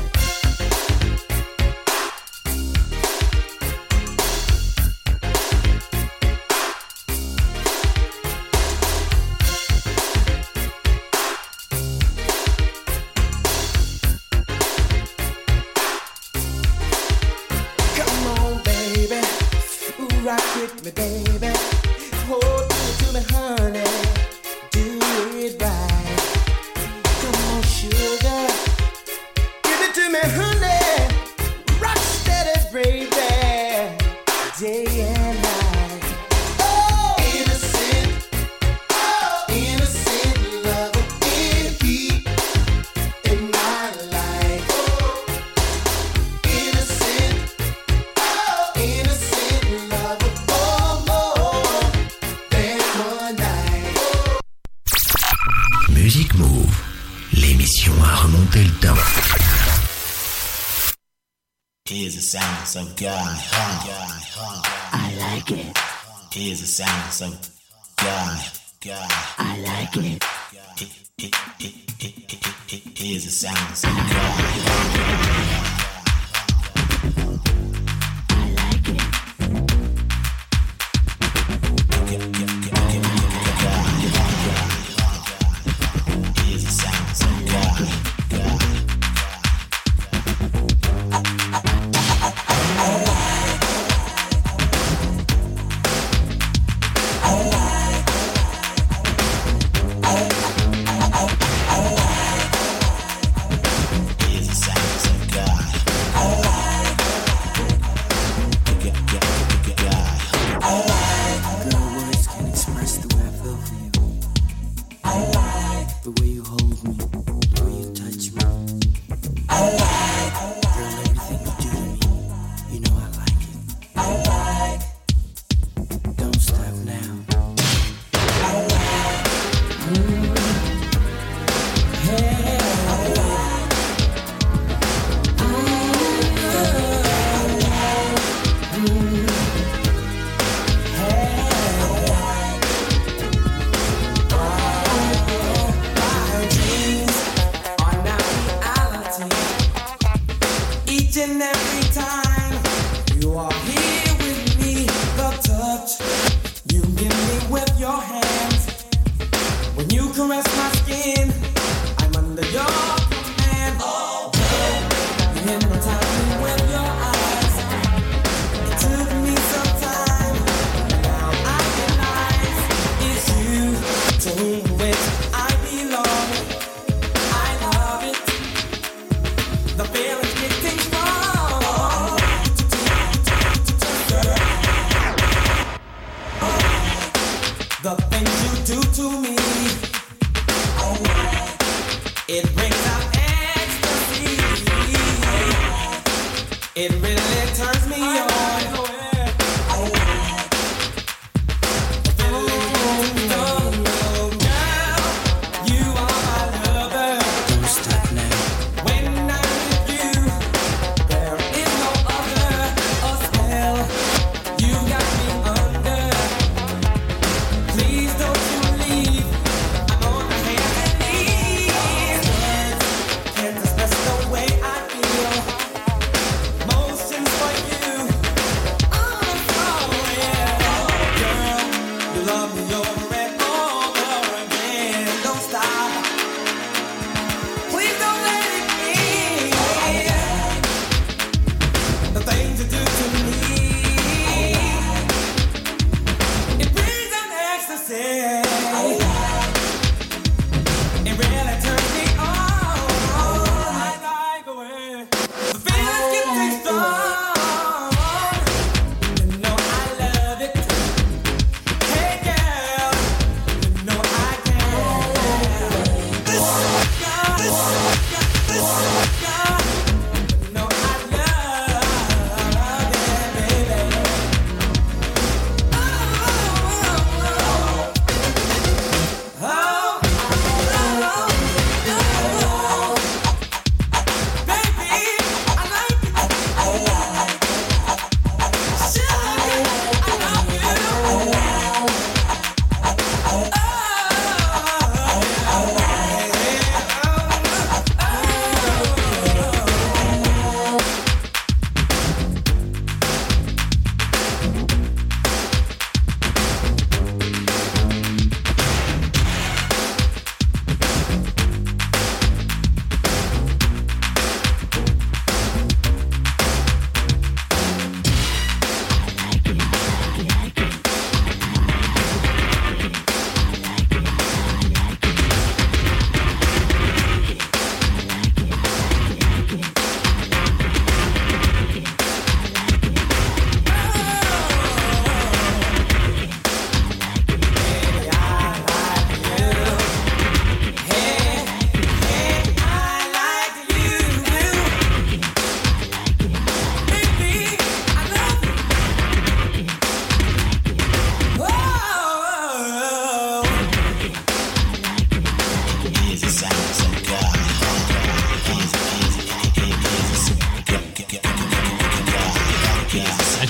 Rock with me, baby. Hold me to me, honey. Do it right. Come on, sugar. Give it to me, honey. Rock steady, baby. Day and night. Oh, innocent. Oh, innocent lover. In heat in my life. Oh, innocent. Oh, innocent love. Music Move, l'émission à remonter le temps. Here's the sounds of God, huh? I like it. Here's the sounds of God, God. I like it. Here's the sounds of God.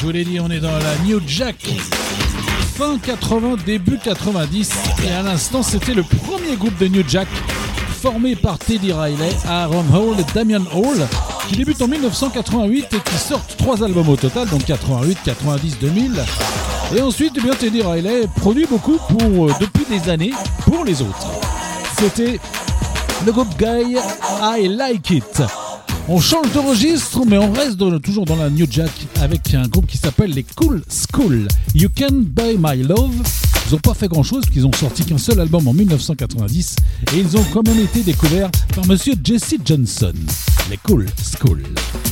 vous l'ai dit, on est dans la New Jack. Fin quatre-vingts, début quatre-vingt-dix. Et à l'instant, c'était le premier groupe de New Jack formé par Teddy Riley, Aaron Hall et Damian Hall, qui débute en dix-neuf cent quatre-vingt-huit et qui sortent trois albums au total, donc quatre-vingt-huit, quatre-vingt-dix, deux mille. Et ensuite, eh bien, Teddy Riley produit beaucoup pour, euh, depuis des années pour les autres. C'était le groupe Guy I Like It. On change de registre, mais on reste dans, toujours dans la New Jack avec un groupe qui s'appelle les Cool School. You Can Buy My Love. Ils n'ont pas fait grand chose, puisqu'ils ont sorti qu'un seul album en dix-neuf cent quatre-vingt-dix et ils ont quand même été découverts par Monsieur Jesse Johnson. Les Cool School.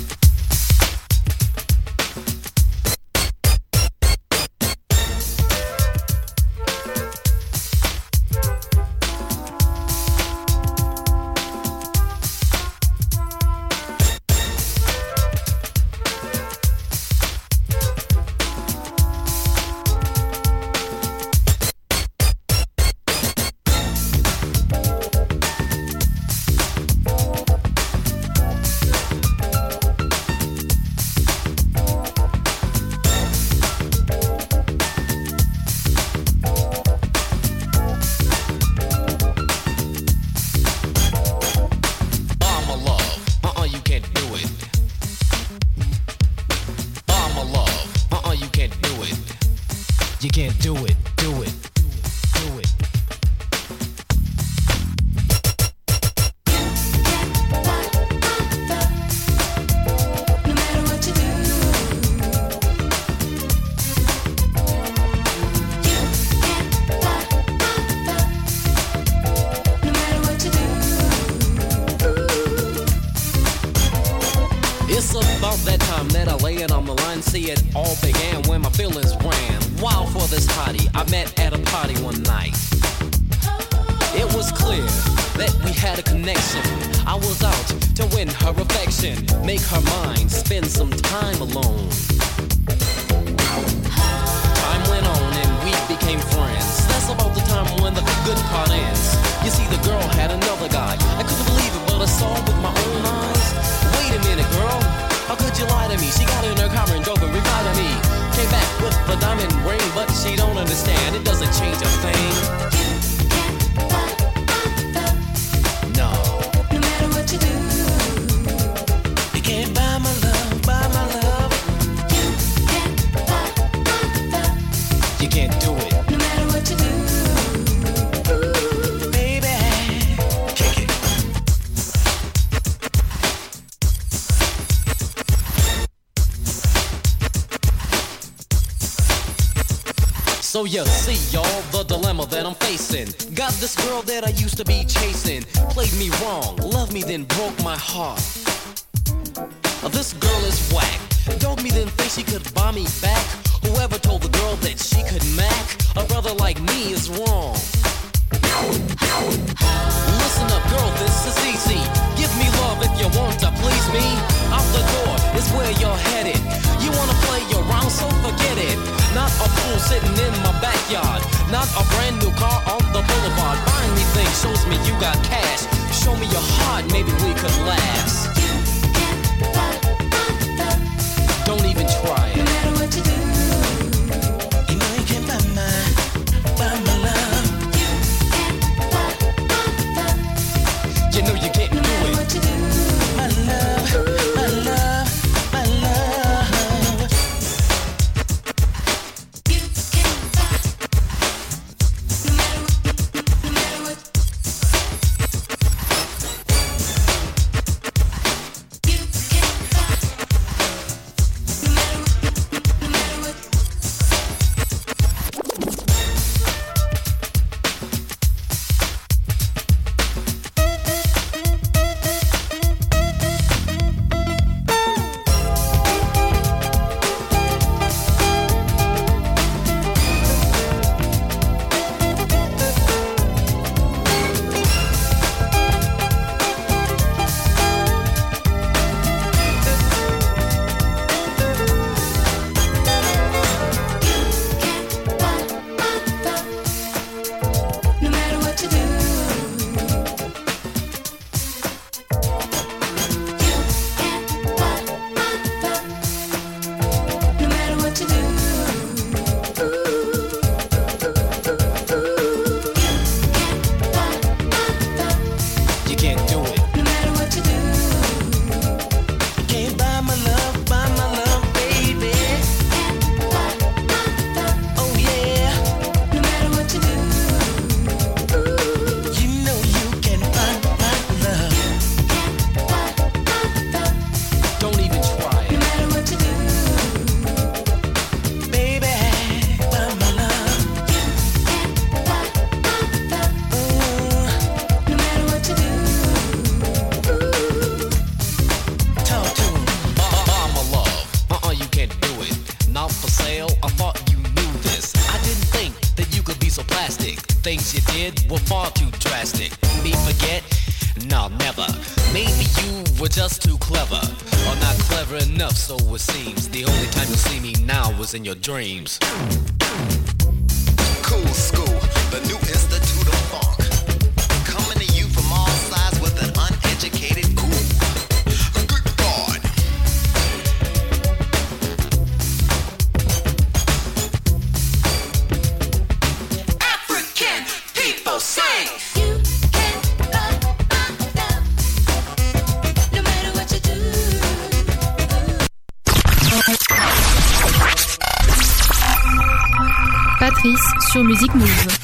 So you see, y'all, the dilemma that I'm facing. Got this girl that I used to be chasing. Played me wrong, loved me, then broke my heart. This girl is whack. Dogged me, then think she could buy me back. Whoever told the girl that she could mac a brother like me is wrong. Listen up, girl, this is easy. Give me love if you want to please me. Out the door is where you're headed. You wanna play around, so forget it. Not a fool sitting in my backyard. Not a brand new car on the boulevard. Buying me things shows me you got cash. Show me your heart, maybe we could last. Don't even try it. No matter what you do, you know you can't buy my, buy my love. You know you can't do it. What you do, my love, my love, my love. You can't buy. No matter what, no matter what. were far too drastic. Me forget? No, never. Maybe you were just too clever, or not clever enough, so it seems. The only time you see me now was in your dreams. Cool school, the new institute of funk. Coming to you from all sides with an uneducated cool. Good God. African people sing. Patrice sur Music Move.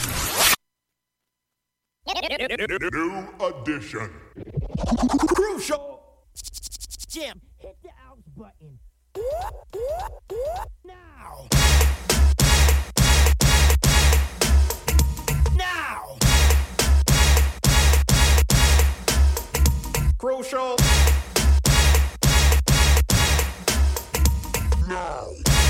New edition. Crucial. Jim, hit the out button. Now. Now. Crucial. Now.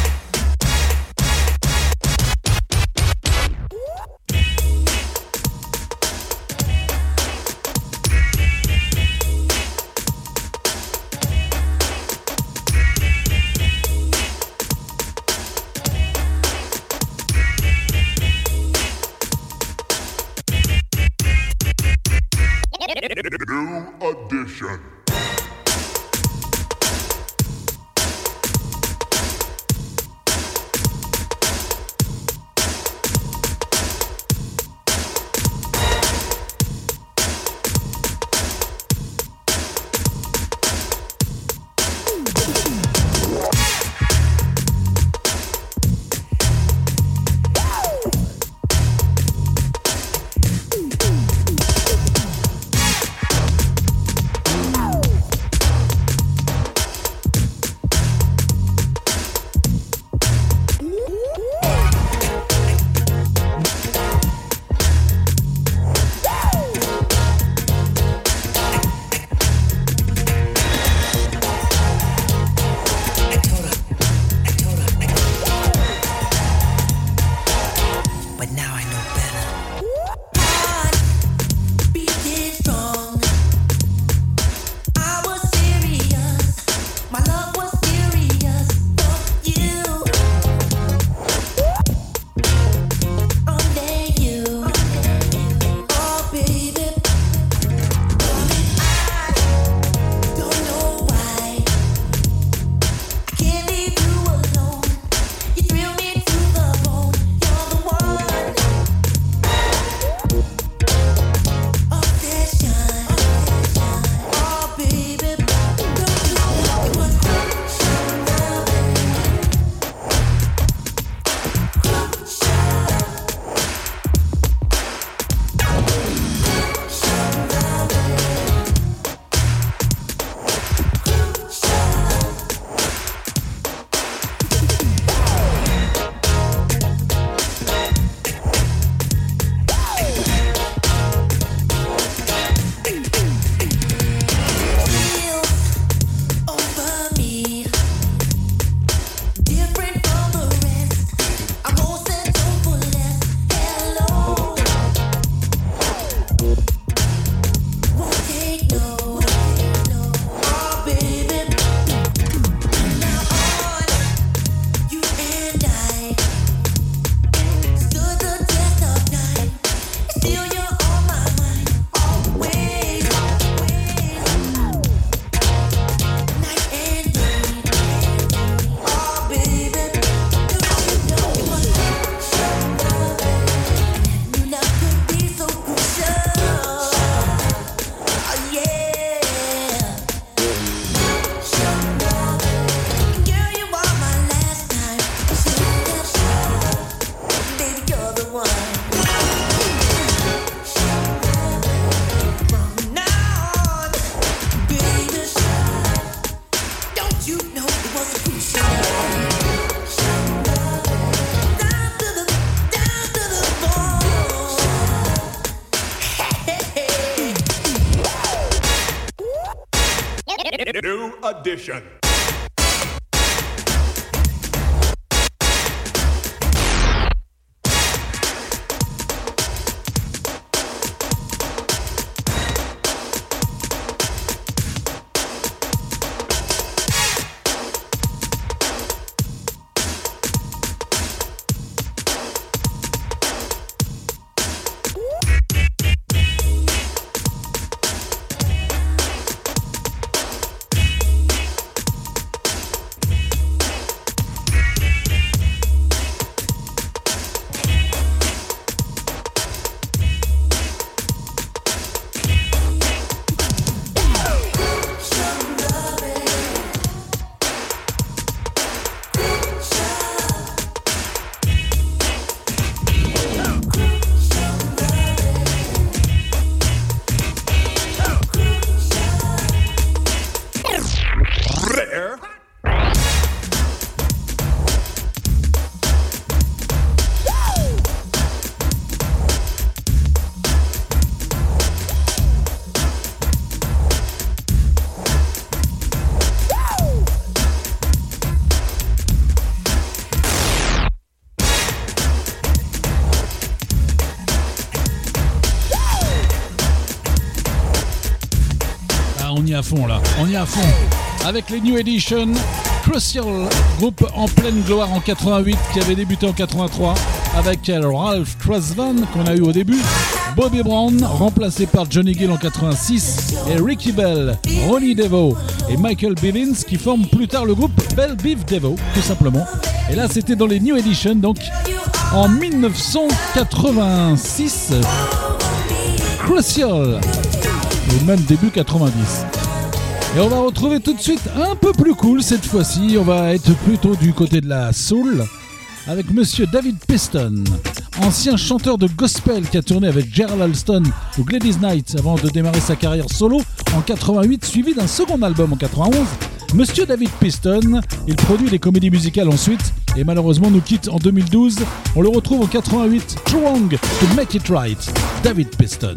New edition. New edition. on y est à fond là, on y est à fond. Avec les New Edition, Crucial, groupe en pleine gloire en quatre-vingt-huit qui avait débuté en quatre-vingt-trois avec Ralph Tresvant qu'on a eu au début, Bobby Brown remplacé par Johnny Gill en quatre-vingt-six et Ricky Bell, Ronnie Devo et Michael Bivins qui forment plus tard le groupe Bell Biv Devo tout simplement. Et là c'était dans les New Edition donc en dix-neuf cent quatre-vingt-six, Crucial, ou même début quatre-vingt-dix. Et on va retrouver tout de suite un peu plus cool cette fois-ci, on va être plutôt du côté de la soul avec monsieur David Piston, ancien chanteur de gospel qui a tourné avec Gerald Alston ou Gladys Knight avant de démarrer sa carrière solo en quatre-vingt-huit, suivi d'un second album en quatre-vingt-onze. Monsieur David Piston, il produit des comédies musicales ensuite et malheureusement nous quitte en deux mille douze. On le retrouve en quatre-vingt-huit, Too Wrong to Make It Right, David Piston.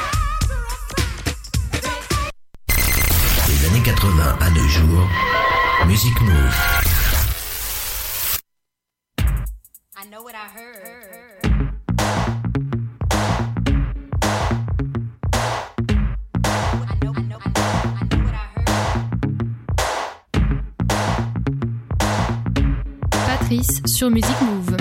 quatre-vingts à nos jours, Music Move. I know what I heard. Patrice sur Music Move.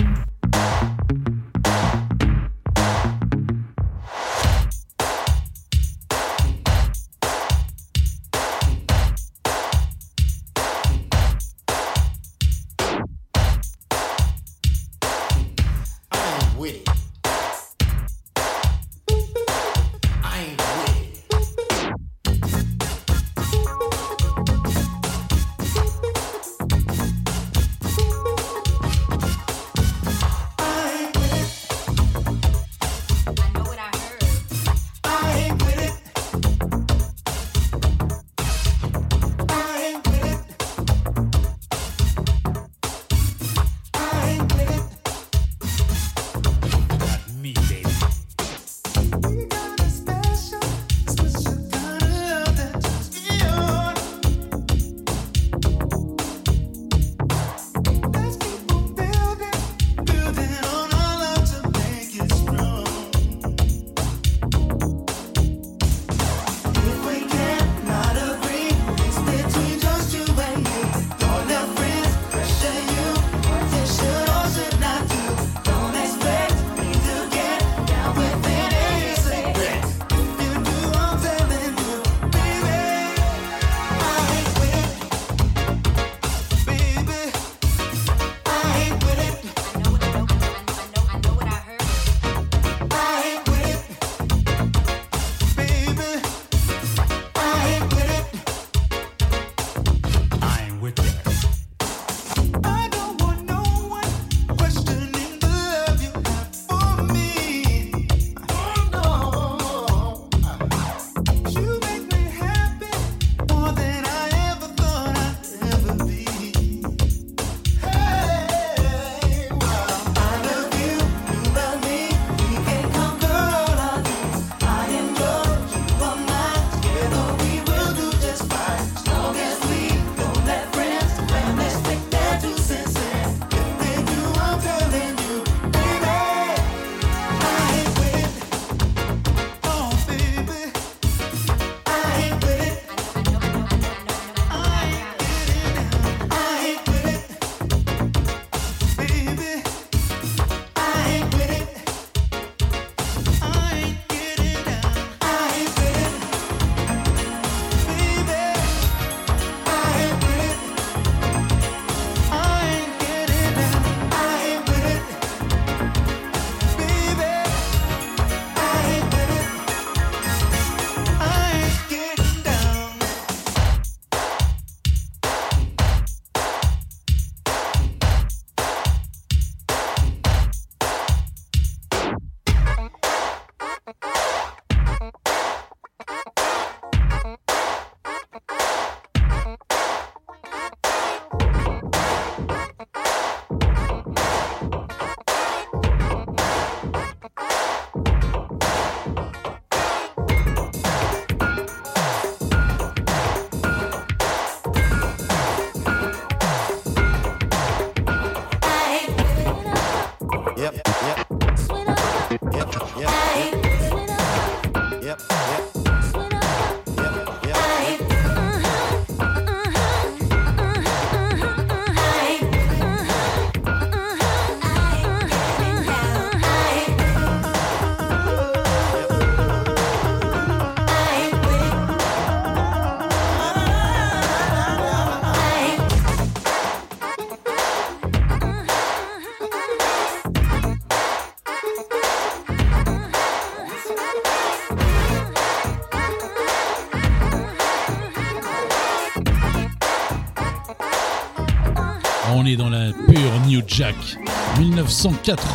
On est dans la pure New Jack. dix-neuf cent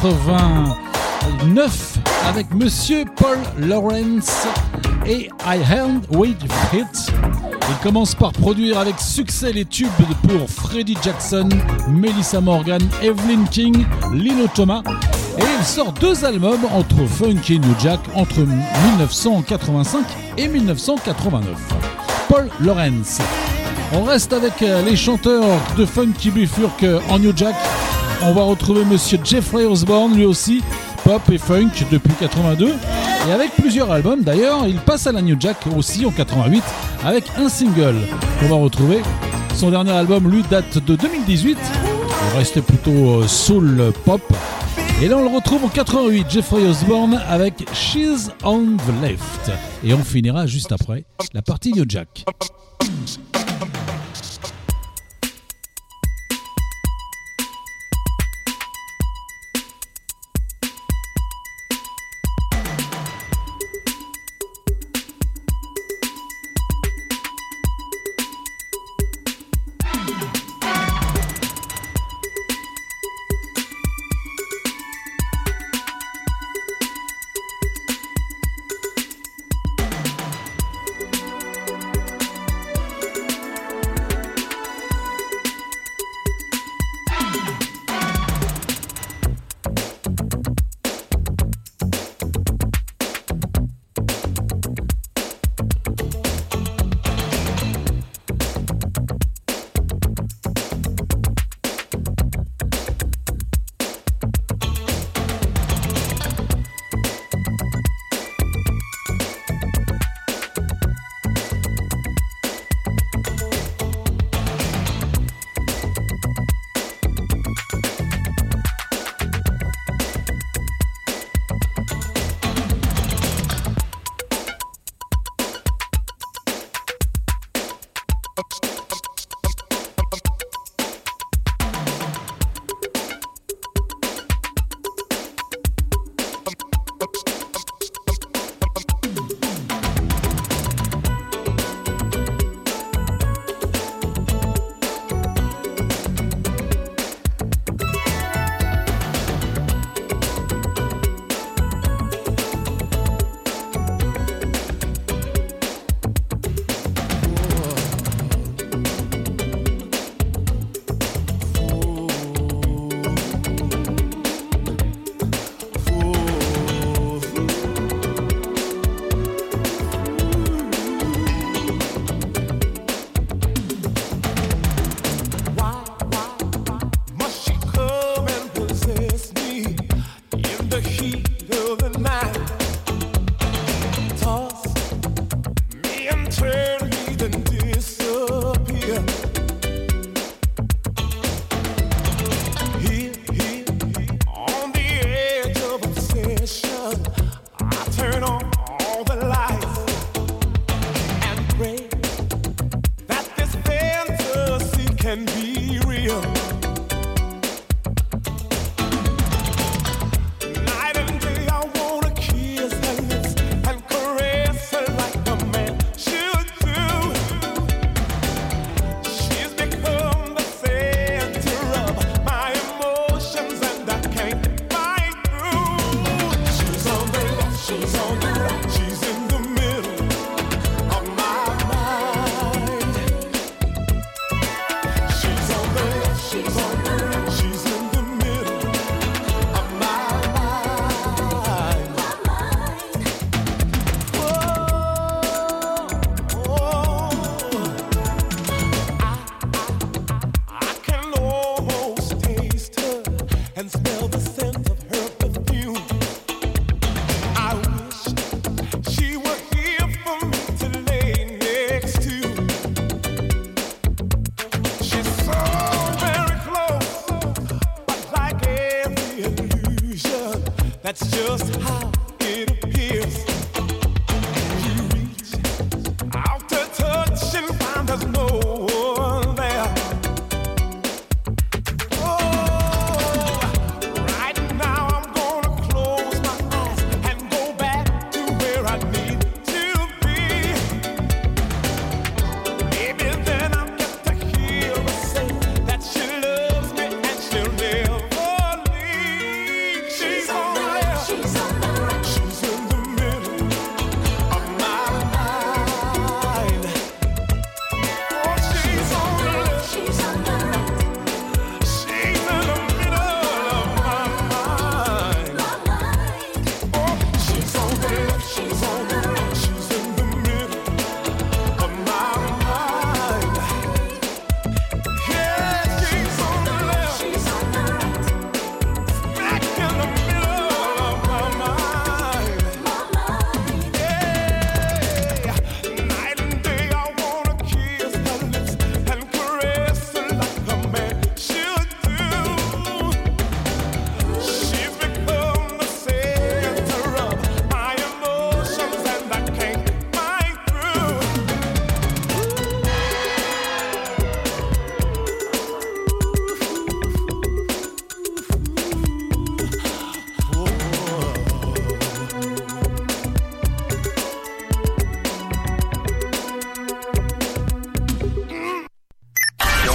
quatre-vingt-neuf avec Monsieur Paul Lawrence et I Hand With It. Il commence par produire avec succès les tubes pour Freddie Jackson, Melissa Morgan, Evelyn King, Lino Thomas. Et il sort deux albums entre funk et New Jack entre dix-neuf cent quatre-vingt-cinq et dix-neuf cent quatre-vingt-neuf. Paul Lawrence. On reste avec les chanteurs de Funky Bifurque en New Jack. On va retrouver monsieur Jeffrey Osborne, lui aussi, pop et funk depuis quatre-vingt-deux. Et avec plusieurs albums d'ailleurs, il passe à la New Jack aussi en quatre-vingt-huit avec un single qu'on va retrouver. Son dernier album, lui, date de deux mille dix-huit. Il restait plutôt soul pop. Et là, on le retrouve en quatre-vingt-huit, Jeffrey Osborne avec She's on the Left. Et on finira juste après la partie New Jack. She's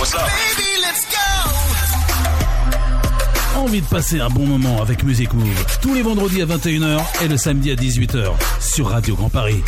what's up? Envie de passer un bon moment avec Music Move tous les vendredis à vingt et une heures et le samedi à dix-huit heures sur Radio Grand Paris.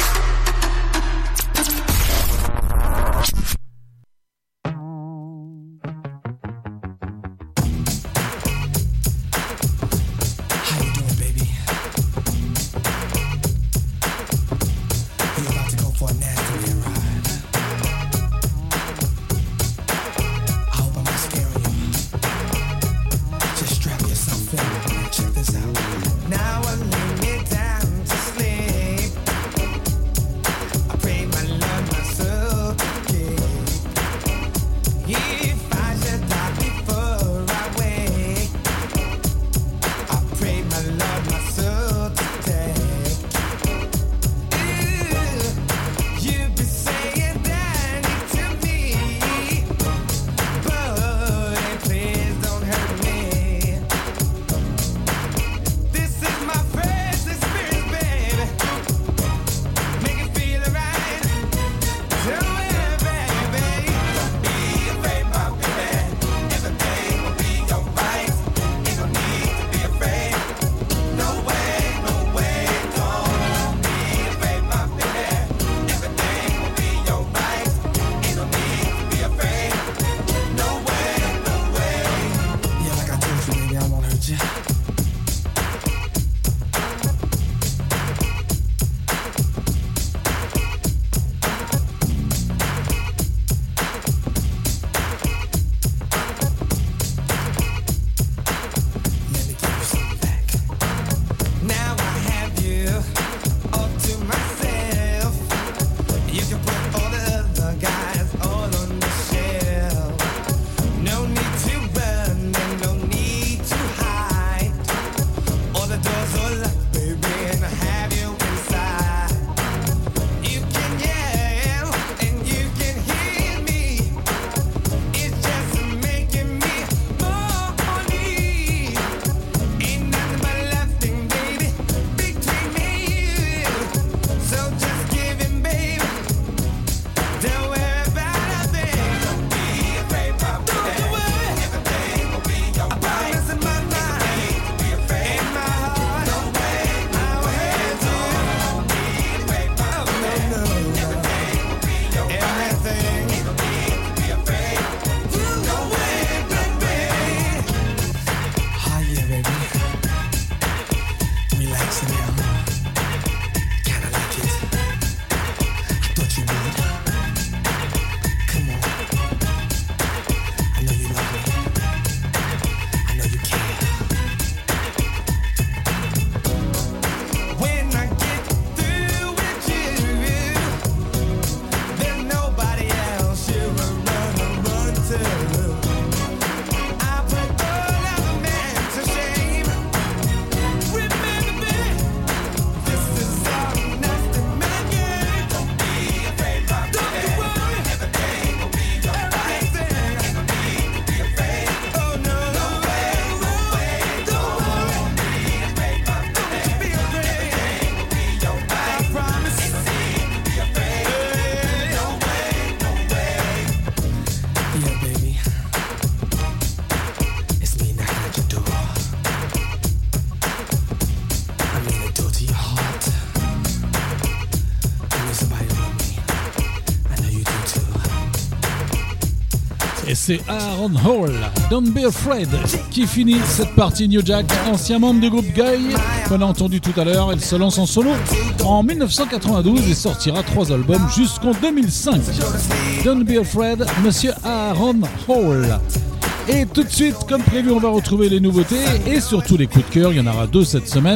Et c'est Aaron Hall, Don't Be Afraid, qui finit cette partie New Jack, ancien membre du groupe Guy, qu'on a entendu tout à l'heure. Il se lance en solo en dix-neuf cent quatre-vingt-douze et sortira trois albums jusqu'en deux mille cinq. Don't Be Afraid, monsieur Aaron Hall. Et tout de suite, comme prévu, on va retrouver les nouveautés et surtout les coups de cœur. Il y en aura deux cette semaine.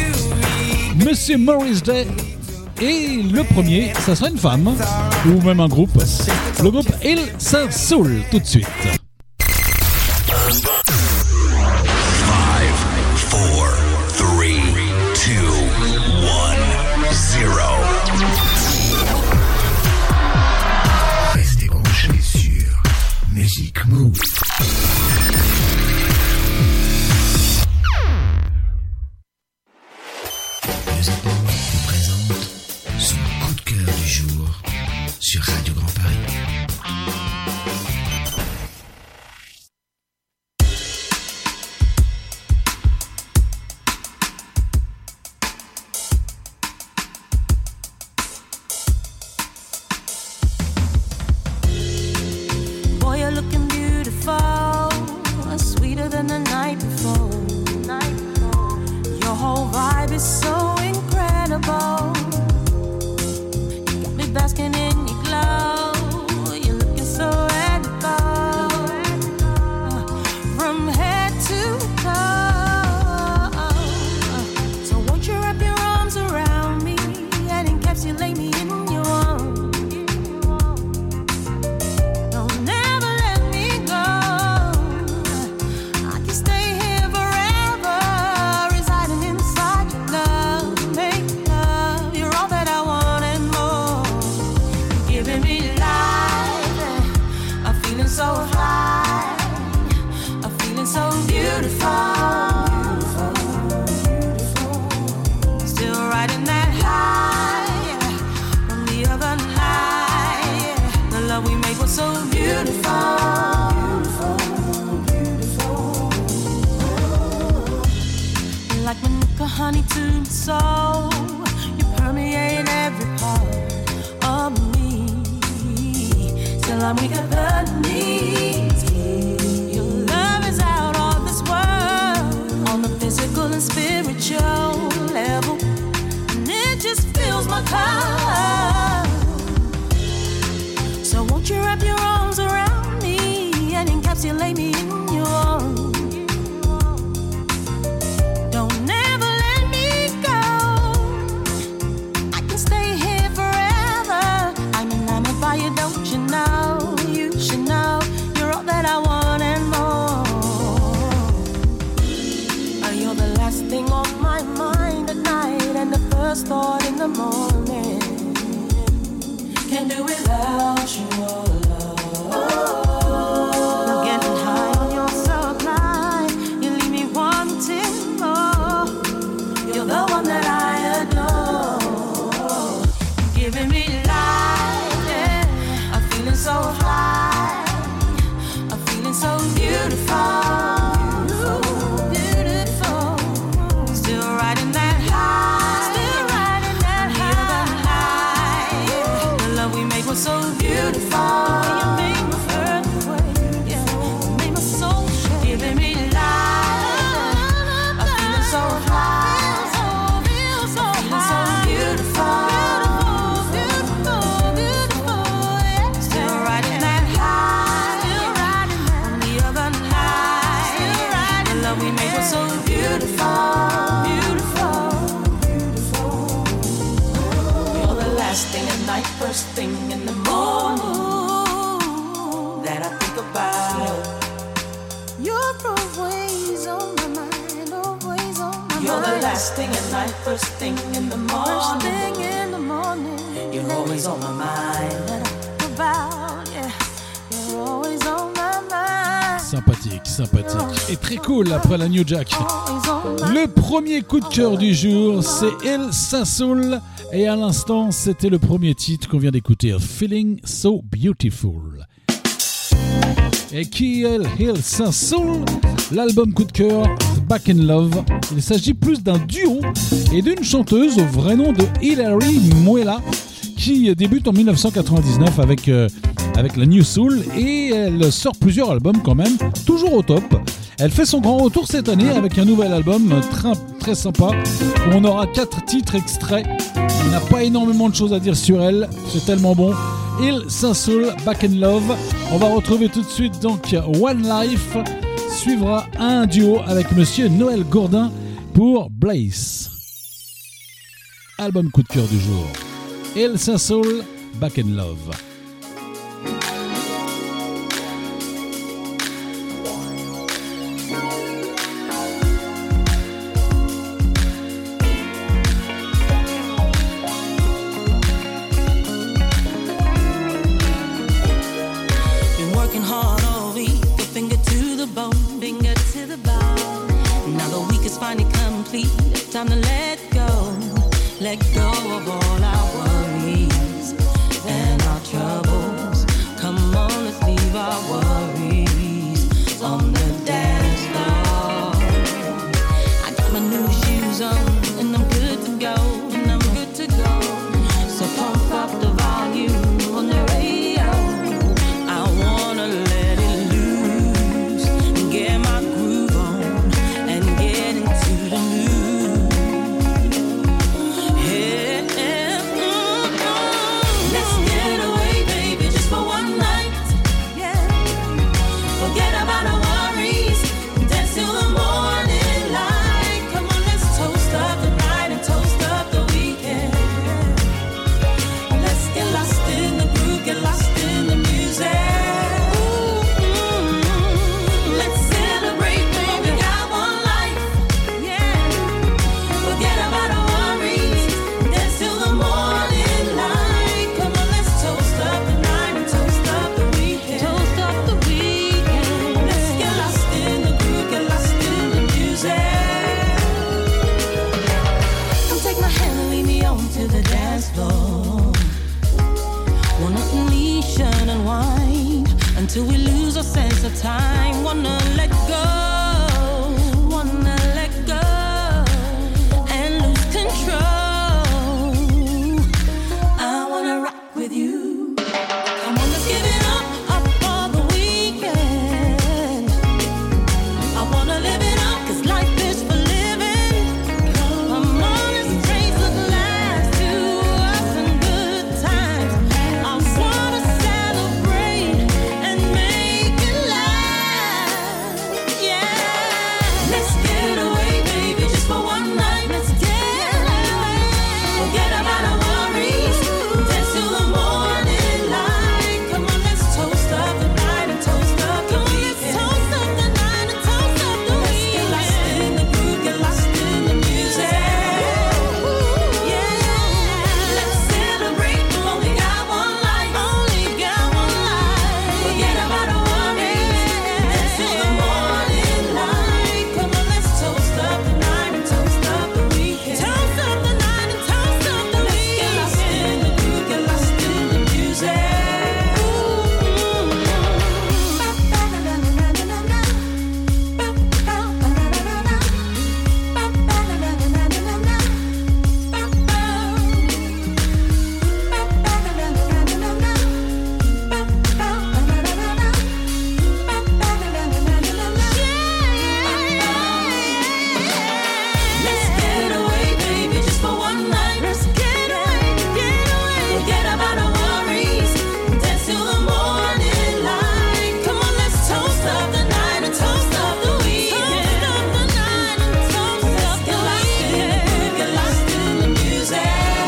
Monsieur Morris Day. Et le premier, ça sera une femme, ou même un groupe. Le groupe Il Soul, tout de suite. Restez branchés sur Music Move. Music Move vous présente son coup de cœur du jour sur Radio Grand Paris. is so incredible. You got me basking in your glow. You're looking so edible. From head to toe. So won't you wrap your arms around me and encapsulate me in your arms? Don't never let me go. I can stay here forever, residing inside your love. Make love, you're all that I want and more. You're giving me life, I'm feeling so high, I'm feeling so beautiful. Still riding that high from the other night. The love we made was so beautiful. Like Manuka honey to my soul, you permeate every part of me. Till I'm weak at the knees. Your love is out of this world, on the physical and spiritual level, and it just fills my cup. So won't you wrap your arms around me and encapsulate me in your arms? Don't never let me go. I can stay here forever. I'm enamored by you, don't you know? You should know you're all that I want and more. Oh, you're the last thing on my mind at night and the first thought in the morning. Can't do without you, oh Lord. I'm getting high on your supply. You leave me wanting more. You're the one that I adore. Giving me life, yeah. I'm feeling so high. I'm feeling so beautiful. Beautiful. Still riding that high. Still riding that high. The love we made was so beautiful. You made my earthquake, yeah. You made my soul shake. Giving me life. I'm feeling so high. I'm feeling so beautiful. Beautiful, beautiful, yeah. Still riding that high. Still riding that. On the other night. Still riding. The love we made was so beautiful. Beautiful, beautiful. You're the last thing at night, first thing in the morning that I think about. You're always on my mind, always on my mind. You're the last thing at night, first thing in the morning. First thing in the morning. You're always on my mind. That I think about, yeah. You're always on my mind. Sympathique, sympathique. Et très cool après la New Jack. Le premier coup de cœur du jour, c'est El Sassoul. Et à l'instant, c'était le premier titre qu'on vient d'écouter, Feeling So Beautiful. Et qui est El Sassoul? L'album coup de cœur, Back in Love. Il s'agit plus d'un duo et d'une chanteuse au vrai nom de Hilary Muela, qui débute en dix-neuf cent quatre-vingt-dix-neuf avec, euh, avec la New Soul, et elle sort plusieurs albums quand même, toujours au top. Elle fait son grand retour cette année avec un nouvel album très, très sympa, où on aura quatre titres extraits. Il n'a pas énormément de choses à dire sur elle, c'est tellement bon. Il Sassoul, Back in Love. On va retrouver tout de suite donc One Life. Suivra un duo avec Monsieur Noël Gourdin pour Blaze. Album coup de cœur du jour. Il Sassoul, Back in Love. Time to let go, let go of all our worries and our troubles. Come on, let's leave our worries on the dance floor. I got my new shoes on and I'm good to go, and I'm good to go. So pump up the volume on the radio. I wanna let it loose and get my groove on and get into the mood. until we lose our sense of time. Wanna let go, wanna let go and lose control. I wanna rock with you. Come on, let's give it up, up for the weekend. I wanna live it up, 'cause life is for living. Come on, let's raise a glass to us and good times. I wanna celebrate and make it last. Yeah, let's get away, baby, just for one night. Let's get away, forget about our worries, dance till the morning light. Come on, let's toast up the night and toast up the weekend. Toast up the night and toast up the weekend. Get lost in the groove, get lost in the music. Yeah, let's celebrate. Only got one life, only got one life. Forget about our worries, dance till the morning light. Come on, let's toast up the night and toast up the weekend. Toast up the night and toast up the weekend. Get lost in the groove, get lost in the music. Let's get away, baby, just for one night. Let's get away, get away. Forget about our worries, dance till the morning light. Come on, let's toast up the night and toast up the weekend. Toast up the night and toast up the weekend. Get lost in the music.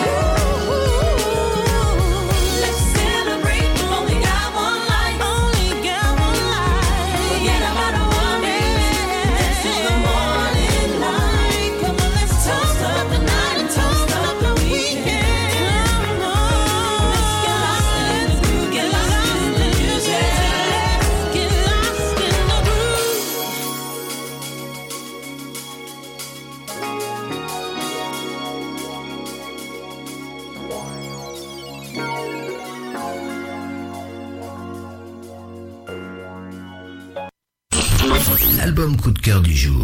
Let's celebrate. Only got one life, only got one life. Forget about our worries, dance till the morning light. Come on, let's toast up the night and toast up the weekend. Come on, let's get lost in the groove, get lost in the music. Let's get lost in the groove. L'album coup de cœur du jour.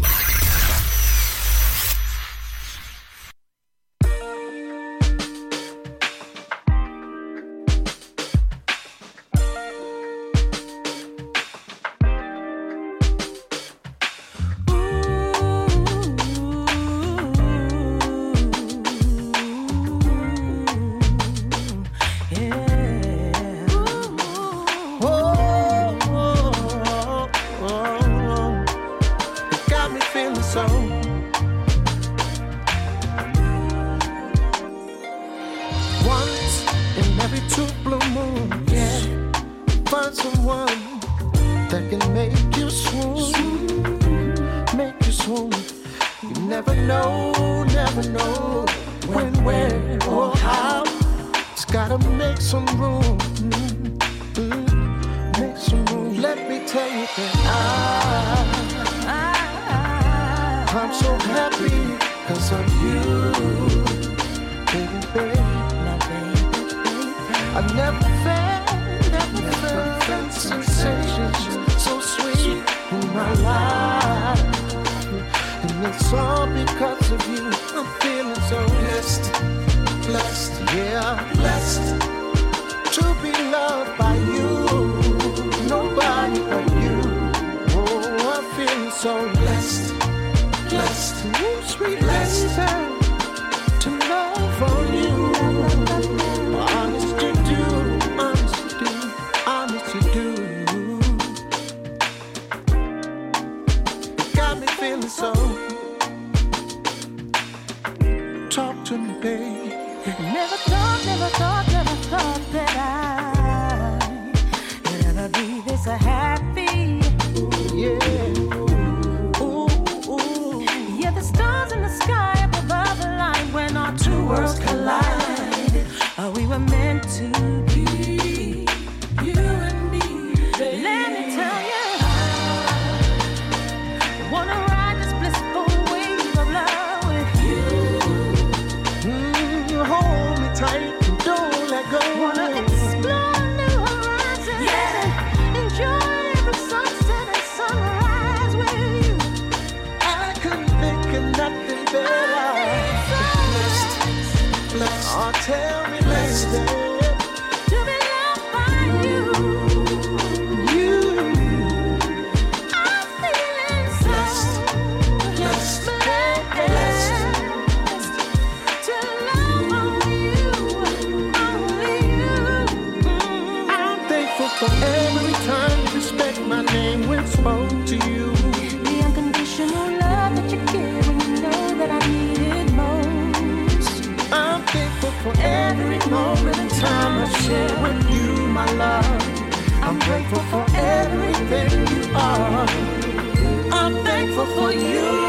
Oh, oh, oh, oh. It got me feeling so. Once in every two blue moon, yeah, find someone that can make you swoon, make you swoon. You never know, never know when, where, or how. Just gotta make some room. Mm, make some room. Let me tell you that I, I'm so happy 'cause of you, baby, baby. I never felt, never felt sensations so sweet in my life, and it's all because of you. I'm feeling so blessed, blessed, yeah, blessed to be loved by you. Nobody but you. Oh, I'm feeling so blessed, blessed, ooh, sweet blessed to love on you. Honest to do, honest to do, honest to do. Got me feeling so. Talk to me, babe. Never thought, never thought, never thought that I thankful for everything you are. I'm thankful for you.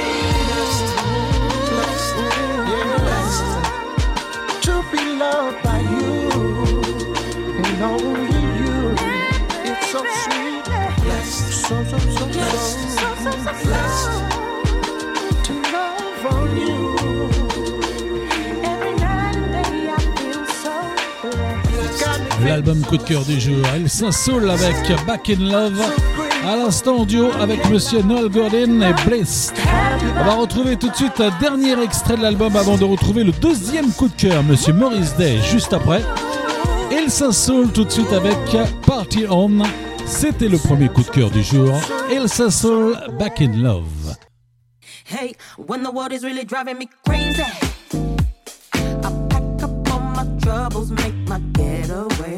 Blessed, blessed, blessed to be loved by you and only you. It's so sweet. Blessed, so, so, so, blessed, so, so, so, so blessed to love on you. Every night and day I feel so blessed. L'album coup de cœur du jour, El Saint-Saul avec Back in Love. À l'instant en duo avec Monsieur Noel Gordon et Bliss. On va retrouver tout de suite un dernier extrait de l'album avant de retrouver le deuxième coup de cœur, Monsieur Maurice Day, juste après. El Saint-Saul tout de suite avec Party On. C'était le premier coup de cœur du jour. El Saint-Saul, Back in Love. Hey, when the world is really driving me crazy, I pack up all my troubles, make my getaway.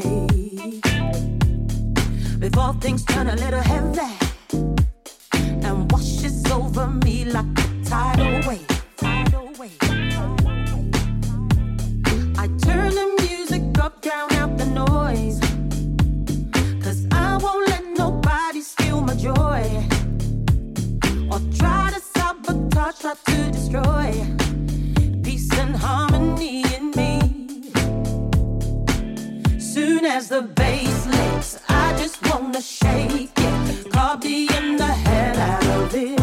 Before things turn a little heavy and washes over me like a tidal wave. Tidal wave. I turn the music up, drown out the noise, 'cause I won't let nobody steal my joy or try to sabotage, try to destroy peace and harmony in me. Soon as the bass licks, I just wanna shake it, copying the hell out of it.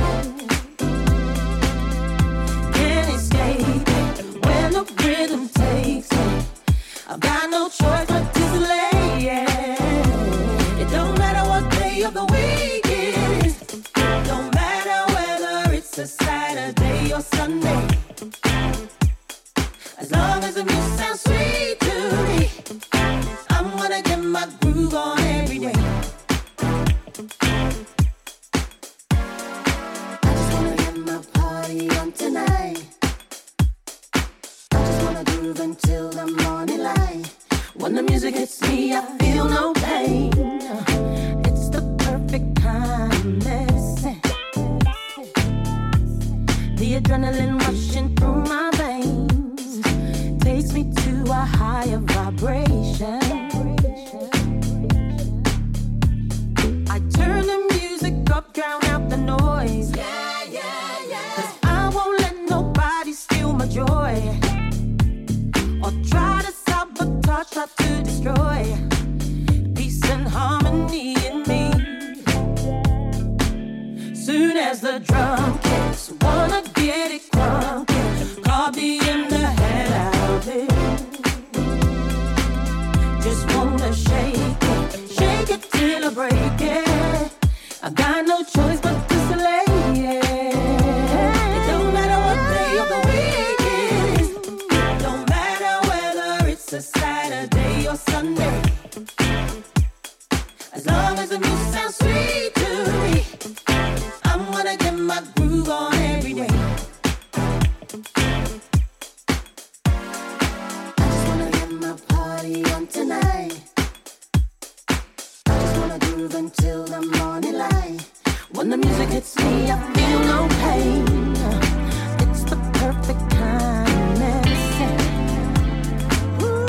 Can't escape it when the rhythm takes me. I've got no choice but to slay it. It don't matter what day of the week it is. It don't matter whether it's a Saturday or Sunday. As long as the music sounds sweet to me, I'm gonna get my groove on every day. I just wanna get my party on tonight. I just wanna groove until the morning light. When the music hits me, I feel no pain. It's the perfect kind of medicine. The adrenaline rushing through my veins takes me to a higher vibration. I turn the music up, drown out the noise. Yeah, yeah, yeah. 'Cause I won't let nobody steal my joy or try to sabotage, try to destroy peace and harmony in me. Soon as the drum kicks, wanna get it crunky, copy in the head out of it. Just wanna shake it, shake it till I break it. I got no choice but to slay it. It don't matter what day of the week it is. It don't matter whether it's a Saturday or Sunday. As long as the music sounds sweet to me, I'm gonna get my groove on every day. I just wanna get my party on tonight. I just wanna groove until the morning light. When the music hits me, I feel no pain. It's the perfect kind of medicine. Ooh,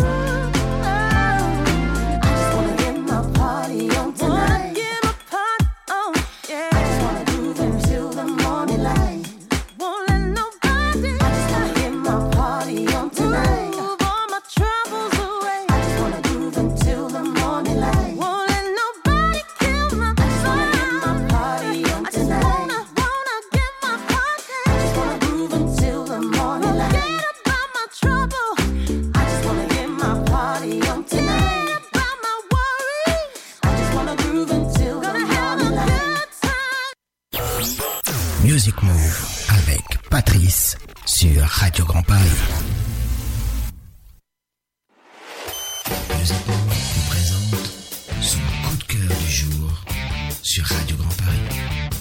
I just wanna get my party on tonight. Get my party on, yeah. I just wanna groove until the morning light. Won't let nobody. I just wanna get my party on tonight. Move all my troubles away. I just wanna groove until the morning light. Won't let nobody kill my I just wanna get my party on tonight. I just wanna, wanna get my party. I just wanna groove until the morning light. Forget about my trouble. I just wanna get my party on tonight. Forget about my worries. I just wanna groove until the morning light. Music Move avec Patrice sur Radio Grand Paris. Music Move vous présente son coup de cœur du jour sur Radio Grand Paris.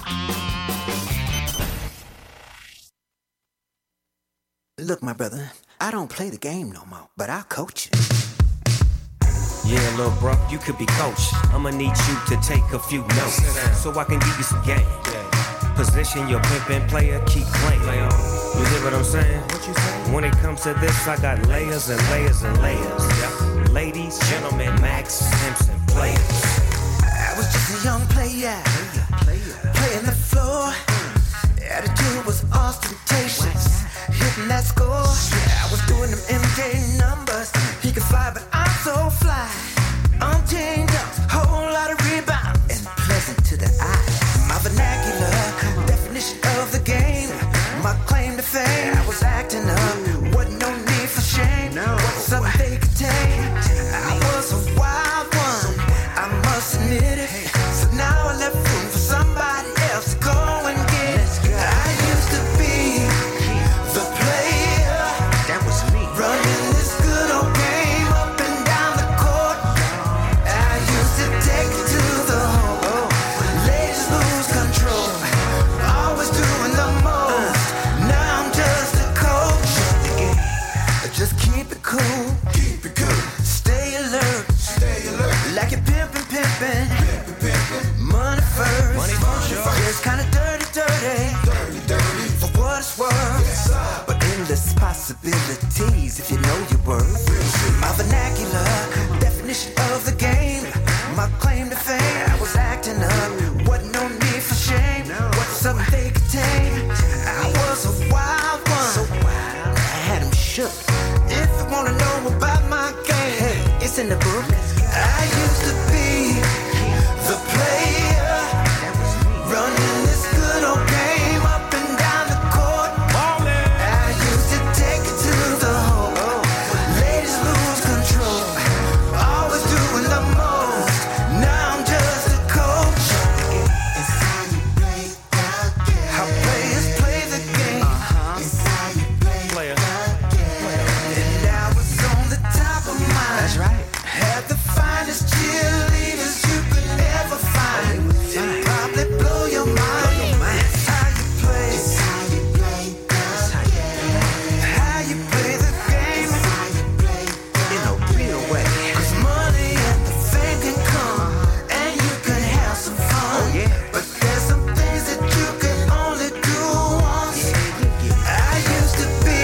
Look, my brother, I don't play the game no more, but I'll coach you. Yeah, little bro, you could be coach. I'ma need you to take a few notes so I can give you some game. Position your pimpin' player, keep playing. You get what I'm saying? When it comes to this, I got layers and layers and layers. Ladies, gentlemen, Max Simpson players. young player, playing the floor. Attitude was ostentatious, hitting that score. I was doing them M J numbers. He could fly, but I'm so fly. I'm chained up, whole lot of rebound, and pleasant to the eye. My vernacular definition of the game, my claim to fame. I was acting up, wasn't no need for shame. What's up they could take? I was a wild one, I must admit it. So now I left room for somebody else to go and get it. I used to be the player, that was me, running this good old game up and down the court. I used to take it to the hole, ladies lose control, always doing the most. Now I'm just a coach. Just keep it cool, keep it cool. Stay alert, stay alert. Like you're pimpin', pimpin', pimpin', pimpin'. Money first, money first. Yeah, it's kinda dirty, dirty, dirty, dirty. For what it's worth, yes, but endless possibilities if you know your worth. My vernacular definition of the game, my claim to fame. I was acting up, wasn't no need for shame. What's something they could tame? I was a wild one, so wild. I had 'em shook. If you wanna know about my game, hey, it's in the book. I used to be the player, running this good old game up and down the court. I used to take it to the hole, ladies lose control, always doing the most. Now I'm just a coach. It's how you play the game. How players play the game. It's how you play the game. And I was on the top of mine. That's right. Had the finest cheerleaders you could ever find. It'd probably blow your mind. It's how you play. It's how you play the game. How you play the game. It's how you play in a real way. 'Cause money and the fame can come, and you can have some fun. Oh, yeah. But there's some things that you can only do once. I used to be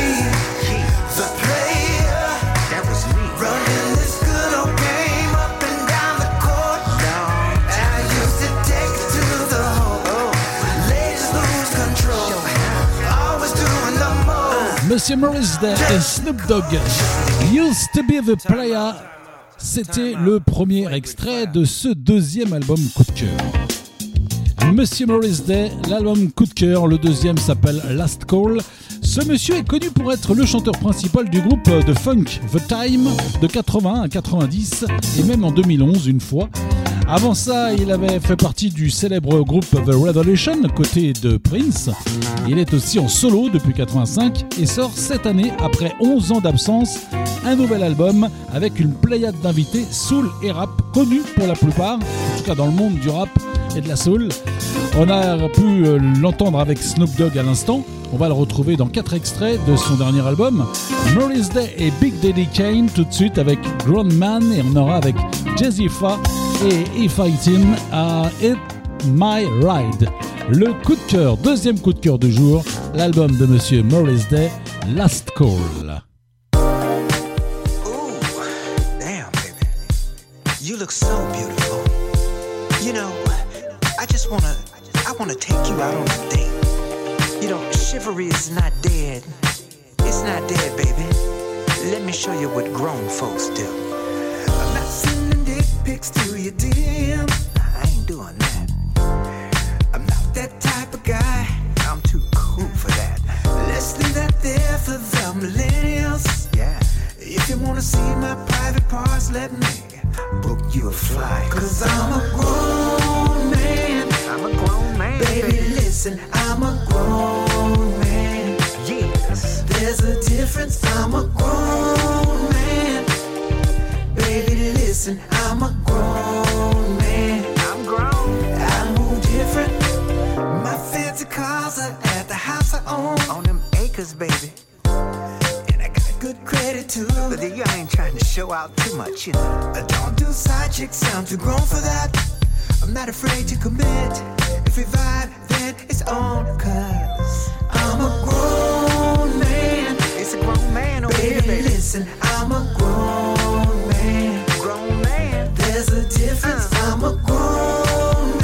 the player, that was me, running this good old game up and down the court. I used to take it to the hole, ladies lose control, always doing the most. Monsieur Morris Day et Snoop Dogg, Used to be the player. C'était le premier extrait de ce deuxième album coup de cœur. Monsieur Morris Day, l'album coup de cœur, le deuxième s'appelle Last Call. Ce monsieur est connu pour être le chanteur principal du groupe de funk The Time de quatre-vingt-un à quatre-vingt-dix et même en deux mille onze une fois. Avant ça, il avait fait partie du célèbre groupe The Revolution, côté de Prince. Il est aussi en solo depuis quatre-vingt-cinq et sort cette année, après onze ans d'absence, un nouvel album avec une pléiade d'invités soul et rap connus pour la plupart, en tout cas dans le monde du rap et de la soul. On a pu l'entendre avec Snoop Dogg à l'instant. On va le retrouver dans quatre extraits de son dernier album, Morris Day et Big Daddy Kane, tout de suite avec Grown Man, et on aura avec Jazzy Fa et If I Tin à It My Ride. Le coup de cœur, deuxième coup de cœur du jour, l'album de Monsieur Morris Day, Last Call. Ooh, damn, baby, you look so beautiful. You know, I just wanna, I wanna take you out on a date. You know, chivalry is not dead. It's not dead, baby. Let me show you what grown folks do. I'm not sending dick pics to your D M. I ain't doing that. I'm not that type of guy. I'm too cool for that. Let's leave that there for the millennials. Yeah. If you wanna see my private parts, let me book you a flight. 'Cause I'm a grown man. I'm a grown man. Baby, listen, I'm a grown man. Yes. There's a difference, I'm a grown man. Baby, listen, I'm a grown man. I'm grown. I move different. My fancy cars are at the house I own. On them acres, baby. And I got good credit too. But you ain't trying to show out too much, you know. I don't do side chicks, I'm too grown for that. I'm not afraid to commit. If we vibe, then it's on. 'Cause I'm a grown man. It's a grown man over here, baby. Listen, I'm a grown man. Grown man. There's a difference. Uh. I'm a grown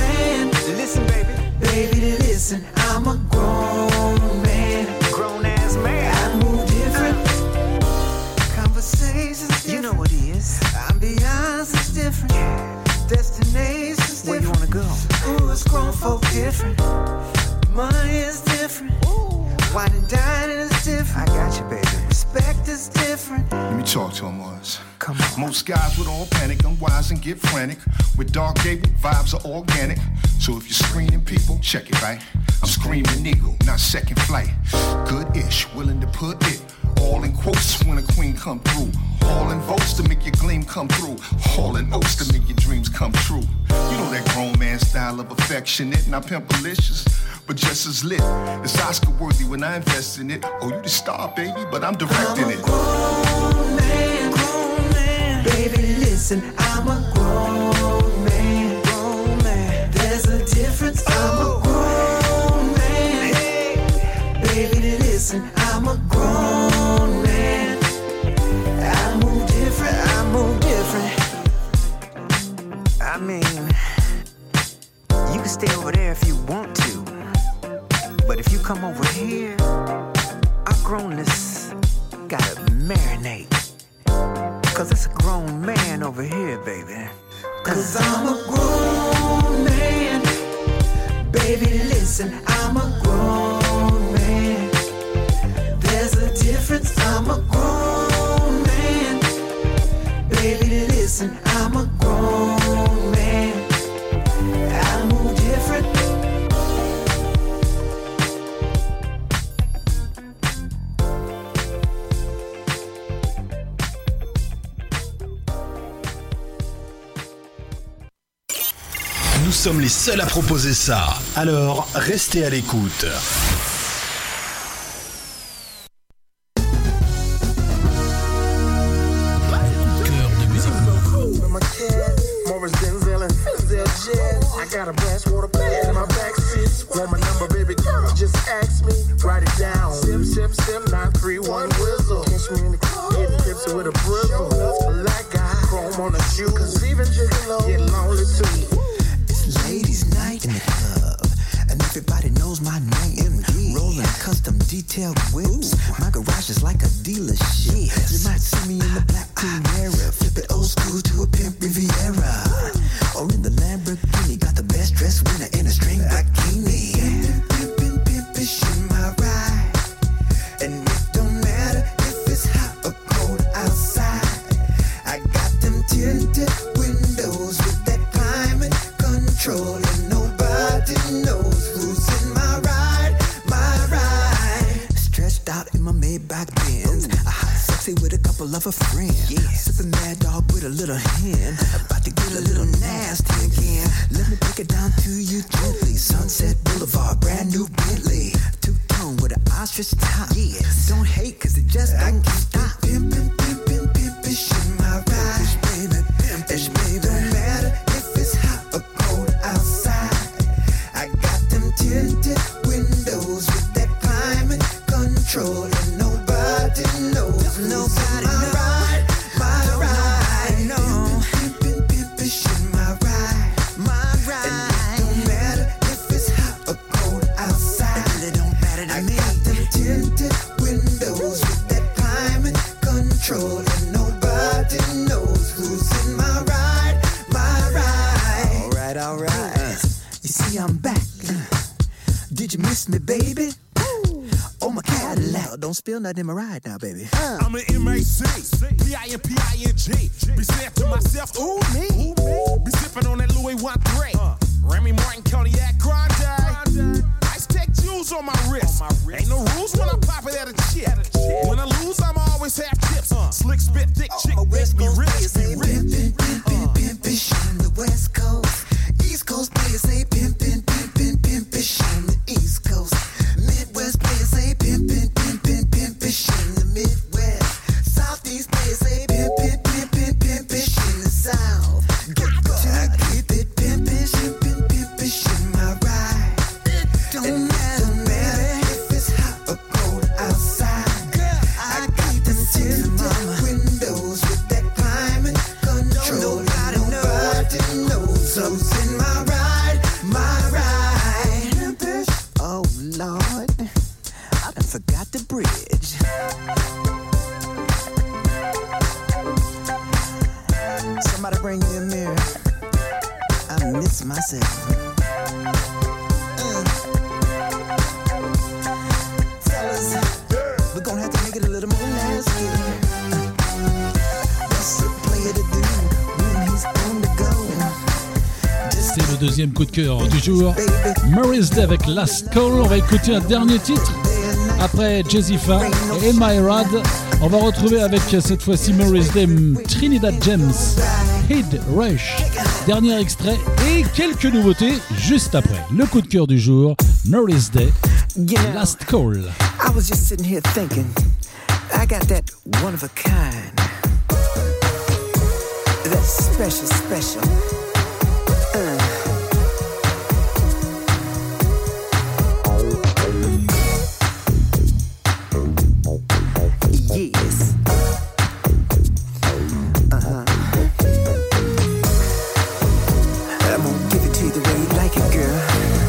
different. Money is different. Wine and dining is different. I got you, baby. Respect is different. Let me talk to him once. Come on. Most guys would all panic, unwise and get frantic. With Dark Gable, vibes are organic. So if you're screening people, check it, right? I'm screaming eagle, not second flight. Good-ish, willing to put it all in quotes when a queen come through. All in votes to make your gleam come through. All in oats to make your dreams come true. You know that grown man style of affectionate, not pimpalicious, but just as lit. It's Oscar worthy when I invest in it. Oh, you the star, baby, but I'm directing it. I'm a grown man, grown man. Baby, listen, I'm a grown man, grown man. There's a difference. I'm a grown man. Hey, baby, listen, I'm a grown man. I move different, I move different. I mean, you can stay over there if you want to. But if you come over here, our grownness gotta marinate. Cause it's a grown man over here, baby. Cause I'm a grown man. Baby, listen, I'm a grown man. There's a difference, I'm a grown man. Baby, listen, I'm a grown man. I move different. Nous sommes les seuls à proposer ça. Alors, restez à l'écoute. I got a brass water pad in my backseat. Want my number, baby girl? Just ask me. Write it down. Sim, sim, sim, nine three one whistle. Catch me in the club, getting tipsy with a bristle. Black guy, chrome on the shoe. Cause even Gigolo get lonely too. It's ladies' night in the club, and everybody knows my name. Rolling custom detailed whips. My garage is like a dealership. You might see me in the black Carrera, flip it old school to a pimp Riviera, or in the Lamborghini. Got the best dressed winner in a string bikini. Pimpin', pimpin', in my ride, and it don't matter if it's hot or cold outside. I got them tinted windows with that climate control, and nobody knows who's in my ride, my ride. Stretched out in my Maybach Benz, a hot sexy with a couple of her friends. Yeah. Sipping Mad Dog with a little hen, about to get a little nasty again. Let me break it down to you gently. Sunset Boulevard, brand new Bentley, two-tone with an ostrich top. Yes. Don't hate cause it just don't stop. Pimpin', pimpin', pimpin', in my ride, baby, pimpin', baby. Don't matter if it's hot or cold outside. I got them tinted windows with that climate control, and nobody knows. Nobody knows. Ride, my ride, no. Pimpin', pimpin', in my ride, my ride. And it don't matter if it's hot or cold outside. It don't matter to I me. I got them tinted windows with that climate control, and nobody knows who's in my ride, my ride. All right, all right. Uh, you see, I'm back. Did you miss me, baby? Oh, my Cadillac. Don't spill nothing in my ride now, baby. Uh. I'm an M A C, P I N P I N G. Be saying to myself, ooh, me. Be sipping on that Louis one three. Uh. Remy Martin, Cognac, Grande. Ice Tech jewels on my wrist. On my wrist. Ain't no rules when I pop it at a chip. At a chip. When I lose, I'ma always have chips. Uh. Slick spit, thick chick, oh, make me rich. Be rich. Pimpin', pimpin', pimpin', on the West Coast. East Coast players say pimpin', pimpin', pimpin', on the East Coast. Midwest players say pimpin', pimpin', pimpin', in the Midwest. Southeast players say pimpin', pimpin', pimpin', in the South. Get I keep it pimpin', pimpin', pimpin', in my ride. It don't matter, matter if it's hot or cold outside. I got them tinted windows with that climate control. Nobody, nobody knows who's in my ride, my ride. Oh Lord, I done forgot the bridge. Somebody bring me a mirror. I miss myself. deuxième coup de cœur du jour. Maurice Day avec Last Call. On va écouter un dernier titre. Après Jessica et My Rad, on va retrouver avec cette fois-ci Maurice Day, Trinidad James, Head Rush. Dernier extrait et quelques nouveautés juste après. Le coup de cœur du jour, Maurice Day, Last Call. I was just sitting here thinking, I got that one of a kind, that special, special. Uh. Yes. Uh-huh. I'm gonna give it to you the way you like it, girl.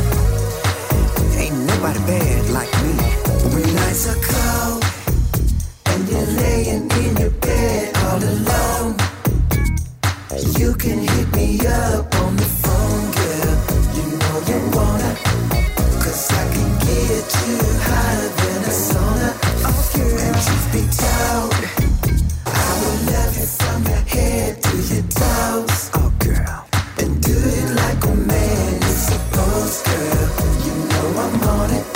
Ain't nobody bad like me. When nights are cold and you're laying in your bed all alone, you can hit me up on the phone, girl. You know you wanna, 'cause I can get you higher than a sauna. Oh, girl. And truth be told, I will love you from your head to your toes. Oh, girl. And do it like a man is supposed, girl. You know I'm on it.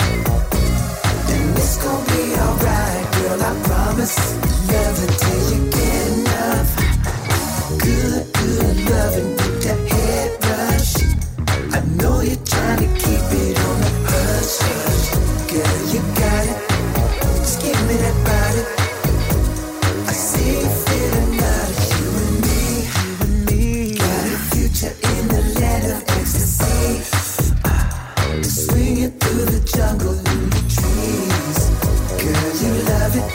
And it's gonna be alright, girl, I promise. Love until you get enough. Good, good loving with that head rush. I know you're trying to keep it on the hush, hush. Girl, you got it. Just give me that body. I see you feeling out of you and me. You and me. Got a future in the land of ecstasy. Just swing it through the jungle in the trees. Girl, you love it.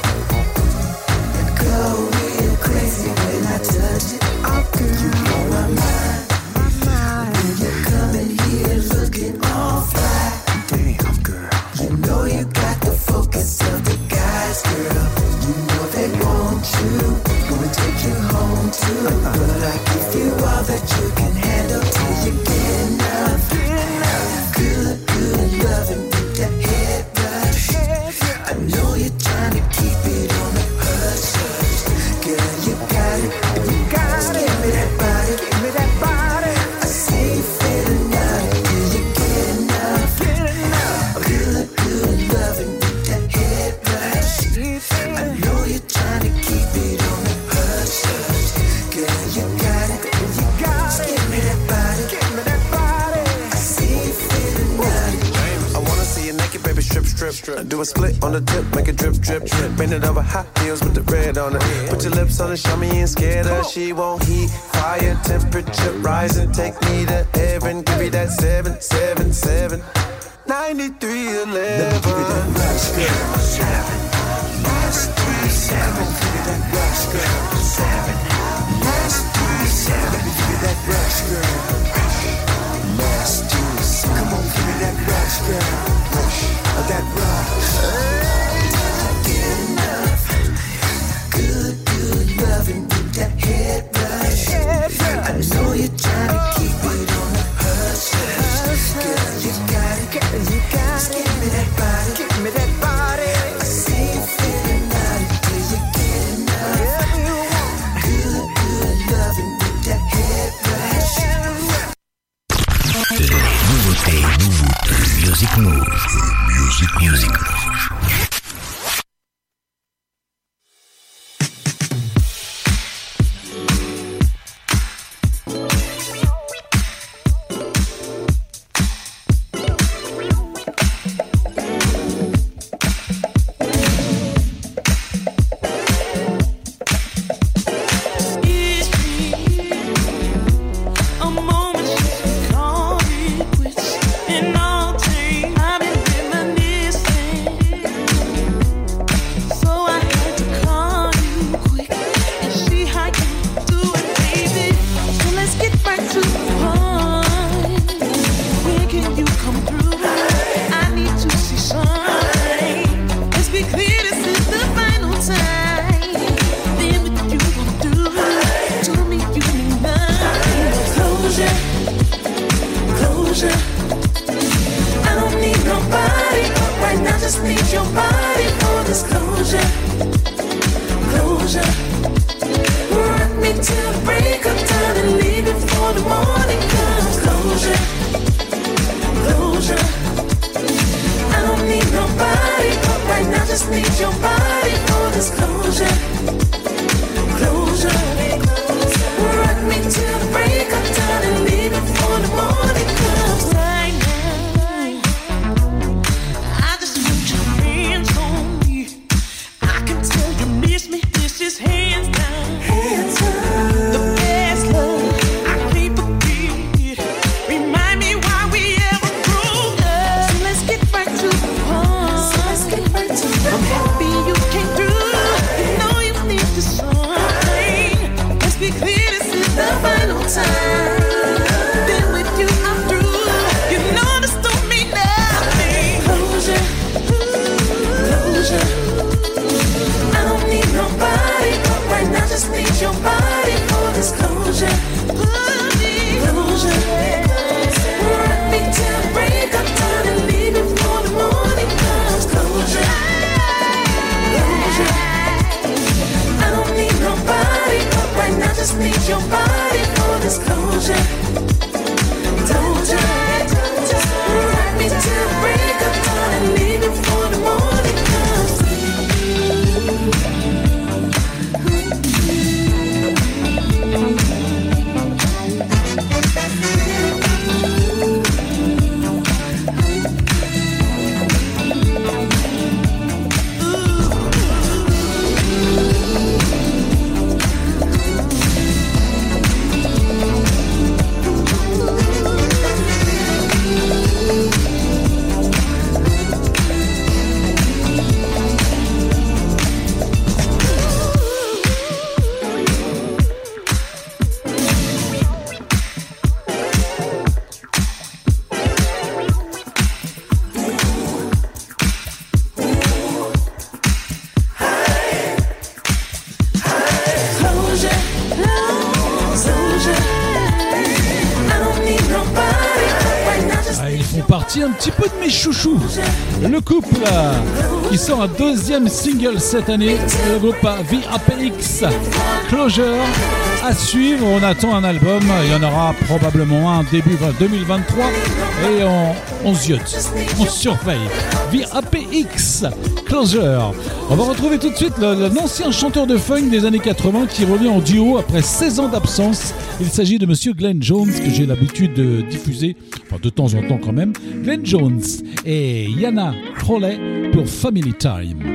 Go real crazy when I touch it. Oh, girl, you blow my mind. My mind. When you're coming here looking all fly. Damn, girl. You know you got the focus of the guys, girl. You know they want you. Gonna take you home too. But I give you all that you can handle till you get enough. Good, good loving with that head rush. I know you're trying to keep it on the hush, hush. Girl, you got it. You got Just it. Give me that body. Give me that body. I see you feeling out till you get enough. Get enough. Good, good loving with that head rush. I know you're trying to keep it on the hush, hush. Girl, you got it. You got Just it. Give me that body. Give me that body. I see you feeling out. I wanna see you naked, baby, strip, strip, strip. Do a split on the tip, make it drip, drip, drip. Bend it over hot heels with the red on it. Put your lips on it, show me you ain't scared of. She won't heat, fire, temperature rising. Take me to heaven, give me that seven, seven, seven. ninety-three eleven. Let me give you that rush, girl. Seven. Last three, seven. Give me that rush, girl. Seven. Last three, seven. Let me give you that rush, girl. Last two, seven. Come on, give me that rush, girl. Rush. That rush. Get enough. Good, good loving with that head rush. I know you're trying to keep it on the hush, hush. Girl, you got it. Girl, you got Just it. Give me that body. Give me that body. I see you feeling out till you get enough. Good, good loving with that head rush. Nouveauté, nouveauté, Music Move. Music, Music Move. A moment you call it quits, and all day I've been just need your body for this closure, closure. Rock me till the break of time and leave it for the morning comes. Closure. just need your body for this closure. Closure. Rock me till the break of dawn and leave it for the morning comes. Right now, I just need your hands on me. I can tell you miss me. This is hands down. Hands down. The best love I can't forget. Remind me why we ever grew up. So let's get right to the point. So let's get right to the point. I'm happy you came through. You know you need to something. Let's be clear, this is the final time. Been with you, I'm through. You know this don't mean nothing. Closure, closure. I don't need nobody, but right now just need your body for this closure. Closure. Rock me till the break of dawn and leave it for the morning comes. Closure. Closure. I don't need nobody, but right now just need your body for this closure. Closure. Rock me till the break of dawn and leave it for the morning comes. Un petit peu de mes chouchous. Le couple euh, qui sort un deuxième single cette année, le groupe V A P X, Closure. À suivre, on attend un album, il y en aura probablement un début deux mille vingt-trois et on, on ziote, on surveille. V A P X, Closure. On va retrouver tout de suite l'ancien chanteur de funk des années quatre-vingts qui revient en duo après seize ans d'absence. Il s'agit de monsieur Glenn Jones que j'ai l'habitude de diffuser, enfin de temps en temps quand même. Glenn Jones et Yana Crowley pour Family Time.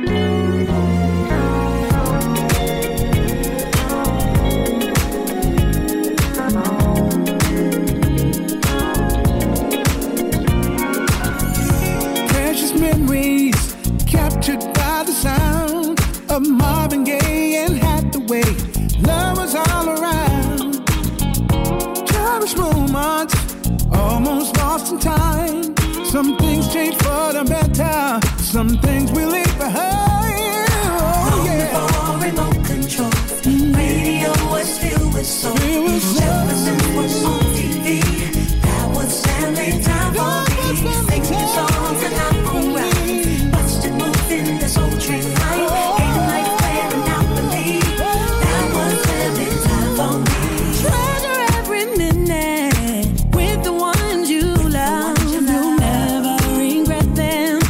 Marvin Gaye and Hathaway, love was all around. Cherished moments, almost lost in time. Some things change for the better, some things we leave behind. Oh, yeah. Before remote control, mm-hmm. Radio was filled with soul. Jefferson was on T V, that was family time for me. Singing songs and I'm gon' ride. Watched it move in this old train line. Oh. With the ones you love, you'll never regret them.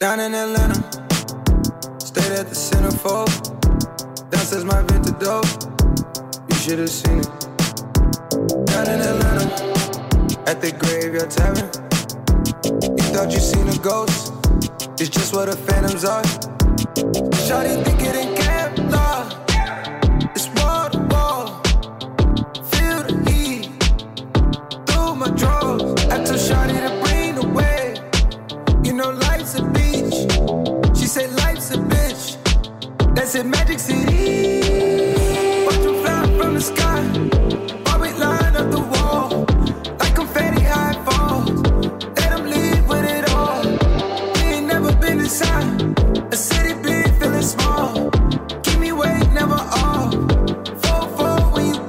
Down in Atlanta, stayed at the Centerfold. Downstairs my Vinta dope, you should have seen it. Down in Atlanta, at the Graveyard Tavern. You thought you seen a ghost, it's just what the phantoms are. Shawty think it ain't Kevlar, it's wall to wall. Feel the heat through my drawers. I told Shawty to bring the wave, you know life's a beach. She said life's a bitch, that's it, Magic City. Watch them fly from the sky, while we line up the wall, like confetti high falls. Let them leave with it all. We ain't never been inside a city big, feeling small. Keep me wait, never off. Four, four, when you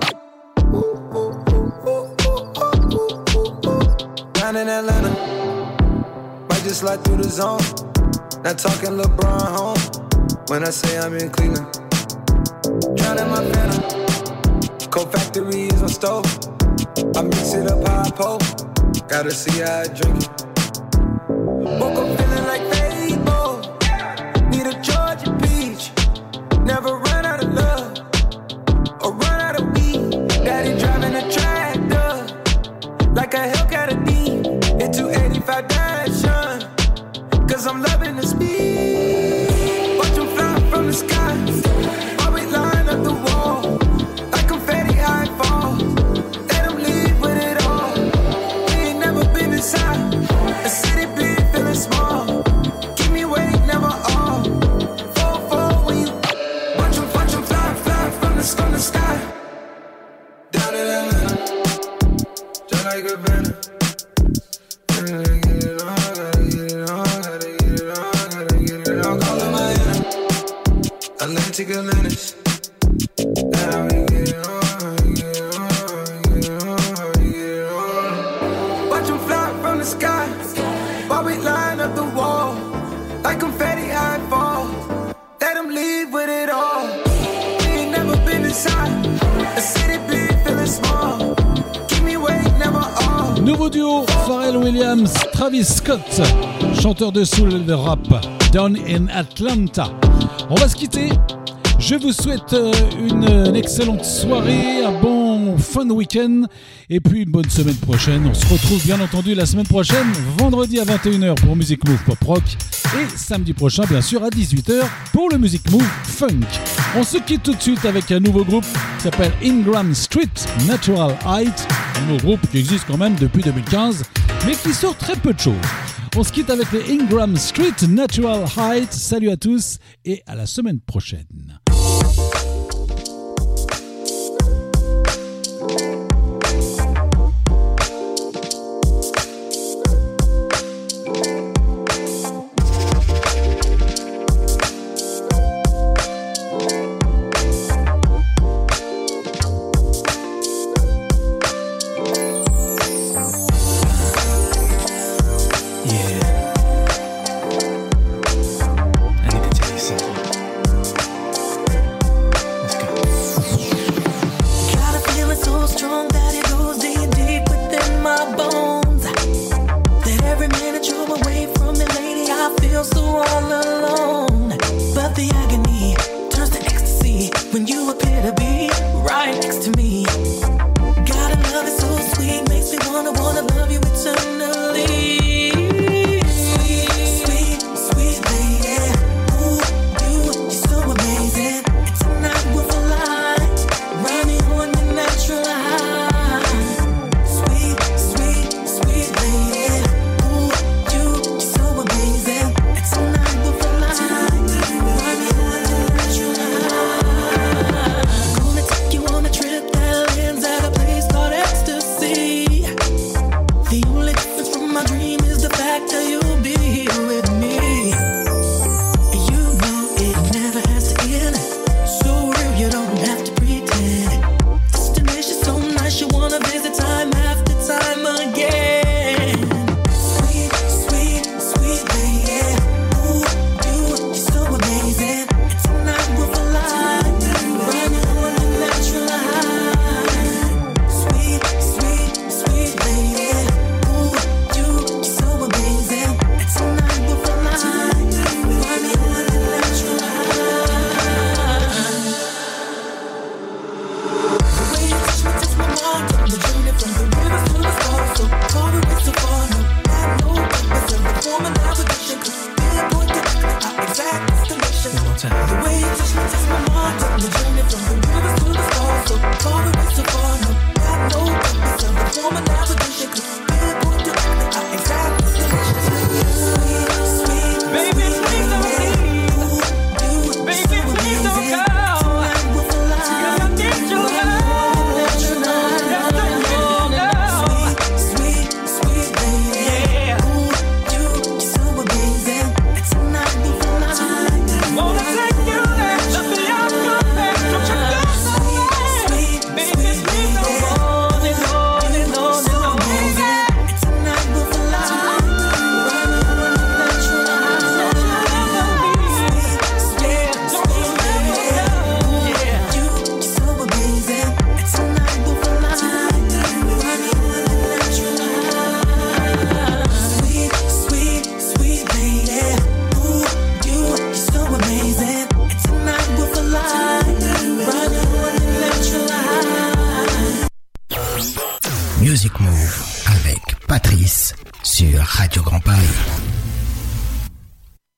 down in Atlanta, might just slide through the zone. Not talking LeBron home when I say I'm in Cleveland. Drowning my phantom, Coke Factory is my stove. I mix it up how I post, gotta see how I drink it. Woke up feeling like Fable, need a Georgia peach. Never run out of love, or run out of weed. Daddy driving a tractor, like a Hellcat a D. Hit two eighty-five dash, cause I'm loving the speed. Watch them fly from the sky, while we line up the wall, like confetti high falls. Let them leave with it all. We ain't never been inside a city big, feeling small. Keep me wait, never off. Four, four, when you watch them, watch them fly, fly from the, from the sky. Down in Atlanta, just like a banner. Gotta get it on, gotta get it on, gotta get it on, gotta get it on. Call it Miami, Atlantic Atlantis. Now we get it on, get it on, get it on, get it on. Watch them fly from the sky, while we line up the wall, like confetti high falls. Let them leave with it all. We ain't never been inside a city big, feeling small. Keep me wait, never off. Nouveau duo, Pharrell Williams, Travis Scott, chanteur de soul de rap, Down in Atlanta. On va se quitter. Je vous souhaite une, une excellente soirée, un bon fun week-end et puis une bonne semaine prochaine. On se retrouve bien entendu la semaine prochaine, vendredi à vingt et une heures pour Music Move Pop Rock et samedi prochain bien sûr à dix-huit heures pour le Music Move Funk. On se quitte tout de suite avec un nouveau groupe qui s'appelle Ingram Street Natural Height, un nouveau groupe qui existe quand même depuis deux mille quinze mais qui sort très peu de choses. On se quitte avec les Ingram Street Natural Height. Salut à tous et à la semaine prochaine. I need to tell you something. Music Move avec Patrice sur Radio Grand Paris.